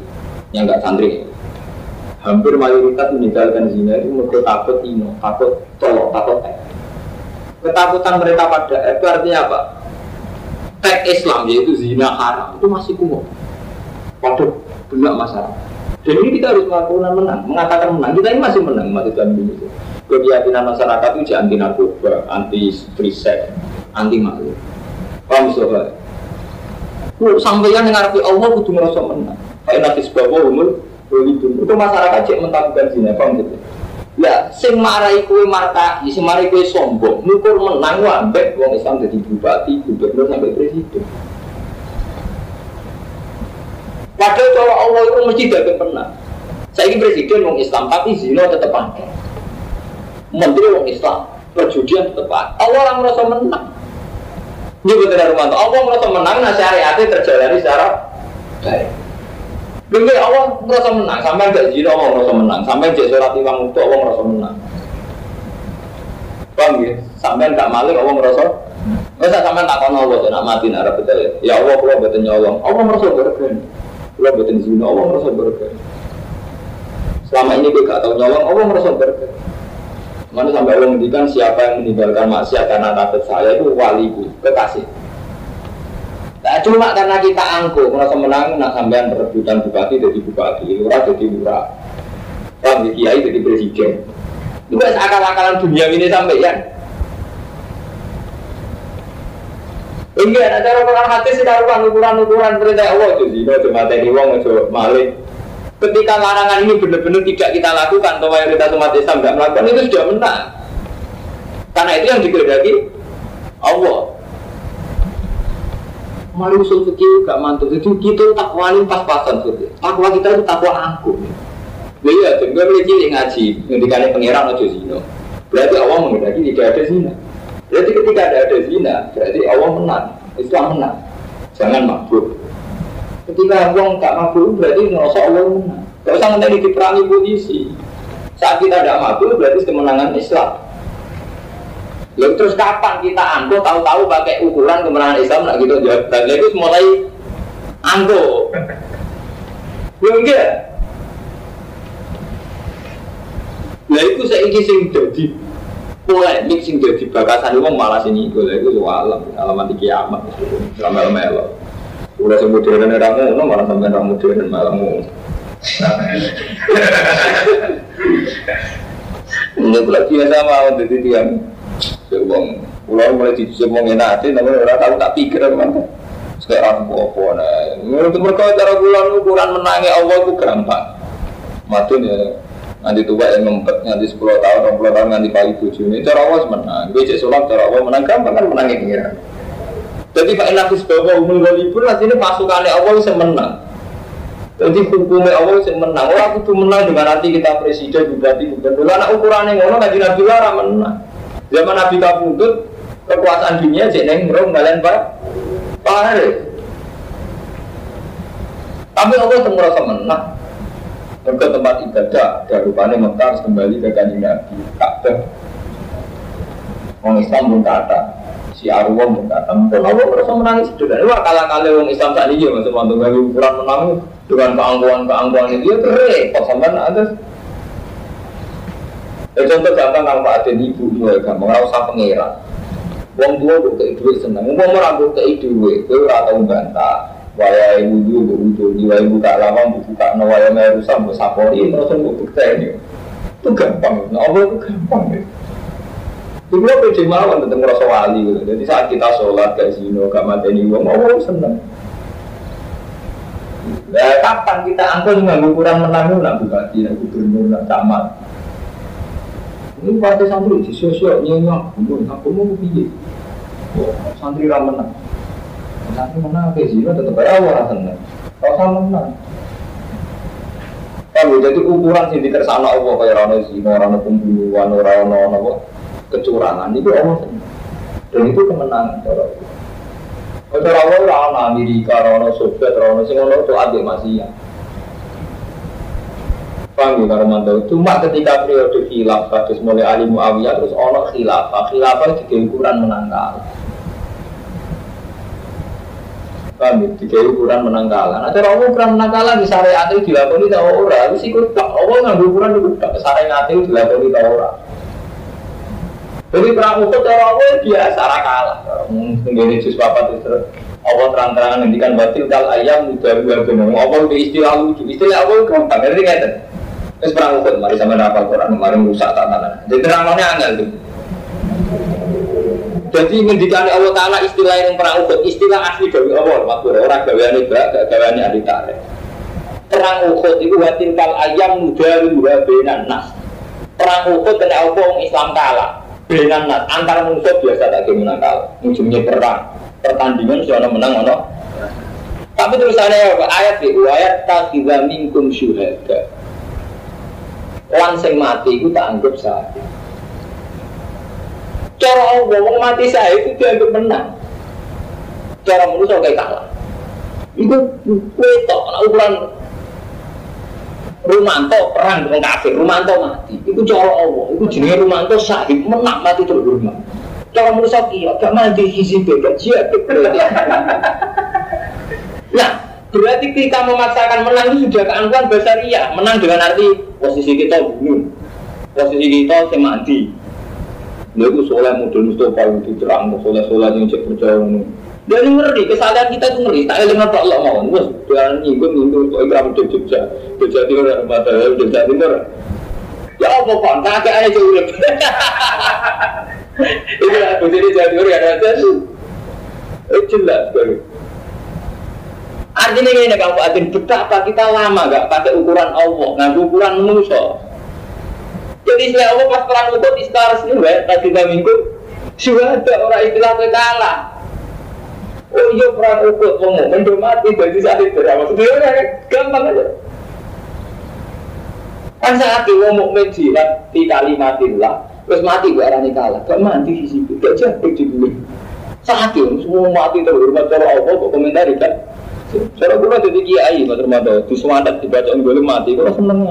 hampir mayoritas meninggalkan zina itu mereka takut ino, takut tolok, takut ketakutan mereka pada itu artinya apa? Teks Islam yaitu zina haram itu masih kuat. Waduh, benar masalah. Dan ini kita harus mengatakan menang. Kita ini masih menang umat Islam Indonesia. Keyakinan masyarakat itu anti narkoba, anti free sex, anti malu. Paham soalnya? Lu sampeyan yang ngarepe Allah kudu ngerasa menang. Kayak nafis bawa umur itu masyarakat cek mentakukan zina, paham gitu? Ya, sing marai kowe markai, sing marai kowe sombong, ngukur menang ambek wong Islam dadi bupati, gubernur sampai presiden. Padahal cara Allah itu mesti dapat menang. Saiki presiden wong Islam tapi zina tetep akeh. Menteri wong Islam, perjudian tetep akeh. Allah ora merasa menang. Ini betul Romanto. Allah merasa menang, nah syariatnya terjalani secara baik. Mungkin Allah merasa menang, sampai gak zina Allah merasa menang, sampai jek sholat imam itu Allah merasa menang. Paham ya? Sampai gak malik Allah merasa. Masa sampai tak kono Allah nak mati nak betul ya. Ya Allah kula mboten nyolong. Allah merasa berkah. Kula mboten zina, Allah merasa berkah. Selama ini dia gak tahu nyolong, Allah merasa berkah. Mana sampai Allah menghentikan siapa yang meninggalkan maksiat karena takut saya itu waliku, kekasih. Nah, cuma karena kita angkuh, merasa menang, nak sampean perebutan bupati jadi bupati, lurah jadi lurah, ramai kiai jadi presiden. Itu kan akal-akalan dunia ini sampai ya. Enggak, ada cara orang hati sih ukuran perintah Allah itu sih, kalau cuma tadi wong itu malik. Ketika larangan ini benar-benar tidak kita lakukan, atau mayoritas umat Islam tidak melakukan, itu sudah menang. Karena itu yang dikehendaki Allah. Mari usul fikih gak mantul. Jadi kita takwanin pas-pasan gitu. Takwa kita itu takwa angkuh. Iya, gue boleh cilik ngaji, ngendikane pangeran aja zina. Berarti Allah menghendaki tidak ada zina. Berarti ketika ada zina, berarti Allah menang, Islam menang. Jangan mabuk. Ketika orang tak mabuk berarti ngerasa Allah menang. Gak usah nanti diperangi posisi. Saat kita tidak mabuk berarti kemenangan Islam. Lalu terus kapan kita anggo tahu-tahu pakai ukuran kemenangan Islam nak gitu jawab. Dan itu mulai anggo. Belum enggak? Lah itu saya ingin sing jadi polemik sing jadi bakasan itu malah sini itu soal alamat kiamat. Lama-lama udah sebut modern orang malah sampai orang modern malah mau. Ini pula biasa mau jadi tiang. Sebelum pulau mulai dijemong enatin, namun orang tahu tak pikir apa. Sekarang apa nah? Menurut mereka cara ukuran menangnya Allah itu gampang. Matun ya. Nanti tua yang ngempet nanti 10 tahun, 20 tahun nanti pagi 7 ini cara Allah menang. Becek sholat cara Allah menang gampang kan menangnya pengiran. Jadi Pak Inafis bahwa umul walipun nanti ini pasukannya Allah bisa menang. Jadi hukumnya Allah bisa menang. Orang itu menang dengan nanti kita presiden, bupati, gubernur. Anak ukurannya ngono ngaji Nabi Lara menang. Zaman Nabi Kabudut kekuasaan dunia jeneng merong ngalen Pak Haris. Tapi Allah itu merasa menang. Ke tempat ibadah, dari rupanya Mekah kembali ke kanjeng Nabi Ka'bah. Orang Islam pun kata. Si Arwah mengatakan, Allah merasa menangis sudah. Wah kala-kala orang Islam saat ini masih mantu bagi ukuran menang dengan keangkuhan itu dia repot sampai ada. Contoh gampang kalau Pak Aden ibu gampang, nggak usah pengeran. Wong tua buat duit senang, wong merambut ke duit, itu atau bantah. Waya ibu wudhu, jiwa ibu tak lama buka nawaya merusak bersapori, merasa buka ini. Itu gampang, Allah itu gampang. Itu pede mawon tentang rasa wali gitu. Jadi saat kita sholat gak zino, gak mateni wong, Allah seneng. Nah, kapan kita angkut dengan ukuran menang nak bupati, nak gubernur, nak camat. Ini partai santri di sosial nyenyak, aku mau pilih. Santri ra menang. Santri menang ke zino tetap aja orang seneng. Rasa menang. Kalau jadi ukuran sih dikersana Allah kayak rano zino, rano pembunuhan, rano apa? Kecurangan itu Allah dan itu kemenangan cara Allah. Cara Allah orang Amerika, orang Soviet, orang Singapura itu ada masih ya. Paham ya kalau mantau. Cuma ketika periode khilafah terus mulai Ali Muawiyah terus orang khilafah itu ukuran menangkal. Paham ya? Tiga ukuran menangkalan. Nah, cara Allah ukuran menangkalan di syariat itu dilakoni tak orang. Itu ikut tak Allah nggak ukuran itu tak syariat itu dilakoni tak orang. Jadi perang Uhud cara Allah biasa kalah. Mungkin Yesus bapak itu Allah terang-terangan ngendikan batil kal ayam udah benar. Allah itu istilah lucu. Istilah Allah gampang. Ngerti nggak? Terus perang Uhud, mari sama hafal Quran, kemarin rusak tatanan. Jadi terangnya angel tuh. Jadi ngendikan Allah Taala istilah yang perang Uhud, istilah asli dari Allah, maksud orang gaweane bak, gak gaweane ahli tarikh. Perang Uhud itu watin kal ayam mudaru wa bainan nas. Perang Uhud kena orang Islam kalah. Bainan nas antar musuh biasa tak menang kalah. Ujungnya perang. Pertandingan soalnya menang ono. Tapi terusannya apa? Ayat itu ayat taqiza minkum syuhada. Lan sing mati itu tak anggap syahid. Cara Allah wong mati syahid itu dianggap menang. Cara manusia kayak kalah. Itu wetok ukuran Rumanto perang dengan kafir, Rumanto mati. Itu cara Allah. Itu jenenge Rumanto syahid menang mati terhormat. Cara manusia kia gak mati hizib gak jihad. Nah, berarti kita memaksakan menang itu sudah keangkuhan basariyah. Menang dengan arti posisi kita bunuh, posisi kita semati. Lalu soleh model Mustafa itu terang, soleh yang cek percaya. Dan ngeri, kesalahan kita itu ngeri. Tak ada apa Allah mau. Terus dengan nyinggung kok ikram Jogja, Jogja Timur dan Madura, Jogja Timur. Ya apa pak? Kakek aja urip. Itu lah, jadi Jogja Timur ya ada tuh. Jelas baru. Artinya ini kalau adin betapa kita lama gak pakai ukuran Allah, nggak ukuran manusia. Jadi istilah Allah pas perang Uhud istilah resmi, tadi minggu sudah ada orang istilah kalah. Oh iya perang Uhud, ngomong mendomati bagi saat itu berapa? Sebenarnya gampang aja. Kan saat itu ngomong menjilat di kalimatillah, terus mati gak arani kalah, gak mati di situ, gak jatuh di bumi. Saat itu semua mati terhormat cara Allah, kok komentari kan? Cara gue jadi kiai, Mas Ramadan, di semangat dibacaan gue mati, gue seneng.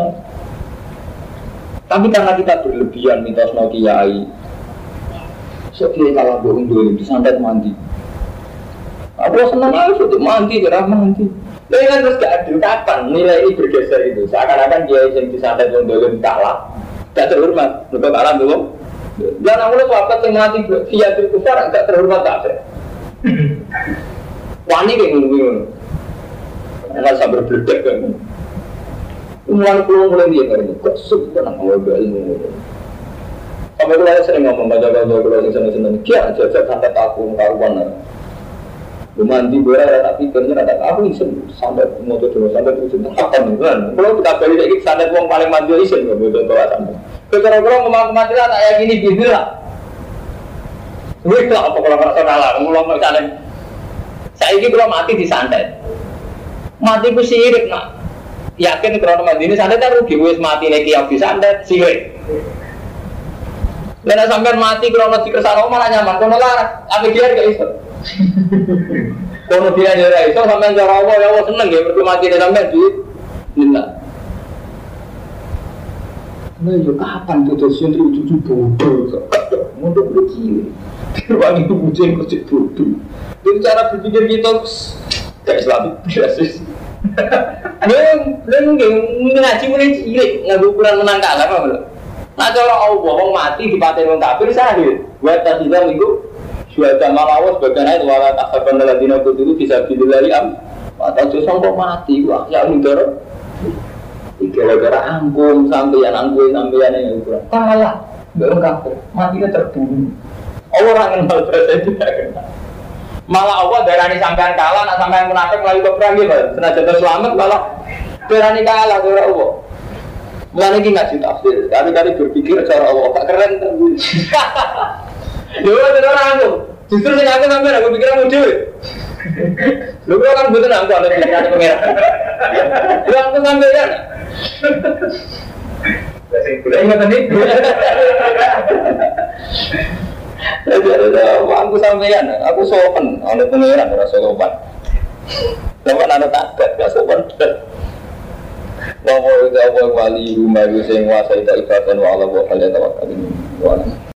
Tapi karena kita berlebihan mitos no kiai, sekian kalah bohong dulu disantet mandi. Aku seneng aja untuk mandi, gerah mandi. Tapi kan terus gak adil kapan nilai ini bergeser itu. Seakan-akan kiai yang disantet dulu kalah, gak terhormat, betul kalah dulu. Dan aku lihat wakat yang mati dia terkufar, gak terhormat kafe. Wani kayak ngomong. Enggak sabar berdek kan. Mulai pulang mulai dia kan. Kok suka nak ngomong ilmu. Sampai kalau sering ngomong baca-baca kalau senang-senang kia aja sampai takut karuan. Mandi boleh tapi kerja ada aku isen sampai motor dulu sampai terus kapan kan. Kalau kita balik lagi sampai uang paling mandi isen nggak boleh bawa sampai. Kalau ngomong mati lah tak yakin ini gitu lah. Wih lah apa kalau nggak salah ngomong misalnya. Saya ini kalau mati disantet. Mati ku sirik nak. Yakin kalau mati ini santet kan rugi wis mati lagi yang disantet sirik. Karena sampai mati kalau masih kesana malah nyaman. Kono lah, apa dia gak iso. Kono dia gak iso sampai cara Allah ya Allah seneng ya berarti mati dia sampai di Nina. Nah, yo kapan tuh sentri cucu bodoh? Untuk begini. Ruang itu kucing kecil bodoh. Jadi cara berpikir kita kayak Islam biasa. Belum ngaji mulai cilik nggak ukuran menang kalah apa belum? Nah cara Allah wong mati dipaten wong kafir sahih. Buat tadilah minggu sudah malawas bagaimana itu wala takhaban ladina kudu bisa dilari am. Atau justru kok mati wah ya mudar. Gara-gara angkum sampeyan yang ukuran kalah. Belum kafir matinya terbunuh. Orang kenal presiden tidak kenal. Malah Allah darani sampean kalah, nak sampean munafik melalui perang gitu. Senajan terselamat malah darani kalah cara Allah. Mulane iki ngaji tafsir, kali-kali berpikir cara Allah, gak keren tenan. Yo ora aku. Justru sing aku sampean aku pikiranmu dhewe. Lho kok kan mboten aku ada pikiran pengira. Lho aku sampean. Lah sing kula ngoten iki. Aku sampean, aku sopan, ana pengiran ora sopan. Sopan ana takut, gak sopan. Wa wali rumah sing kuasa ibadah wa ala wa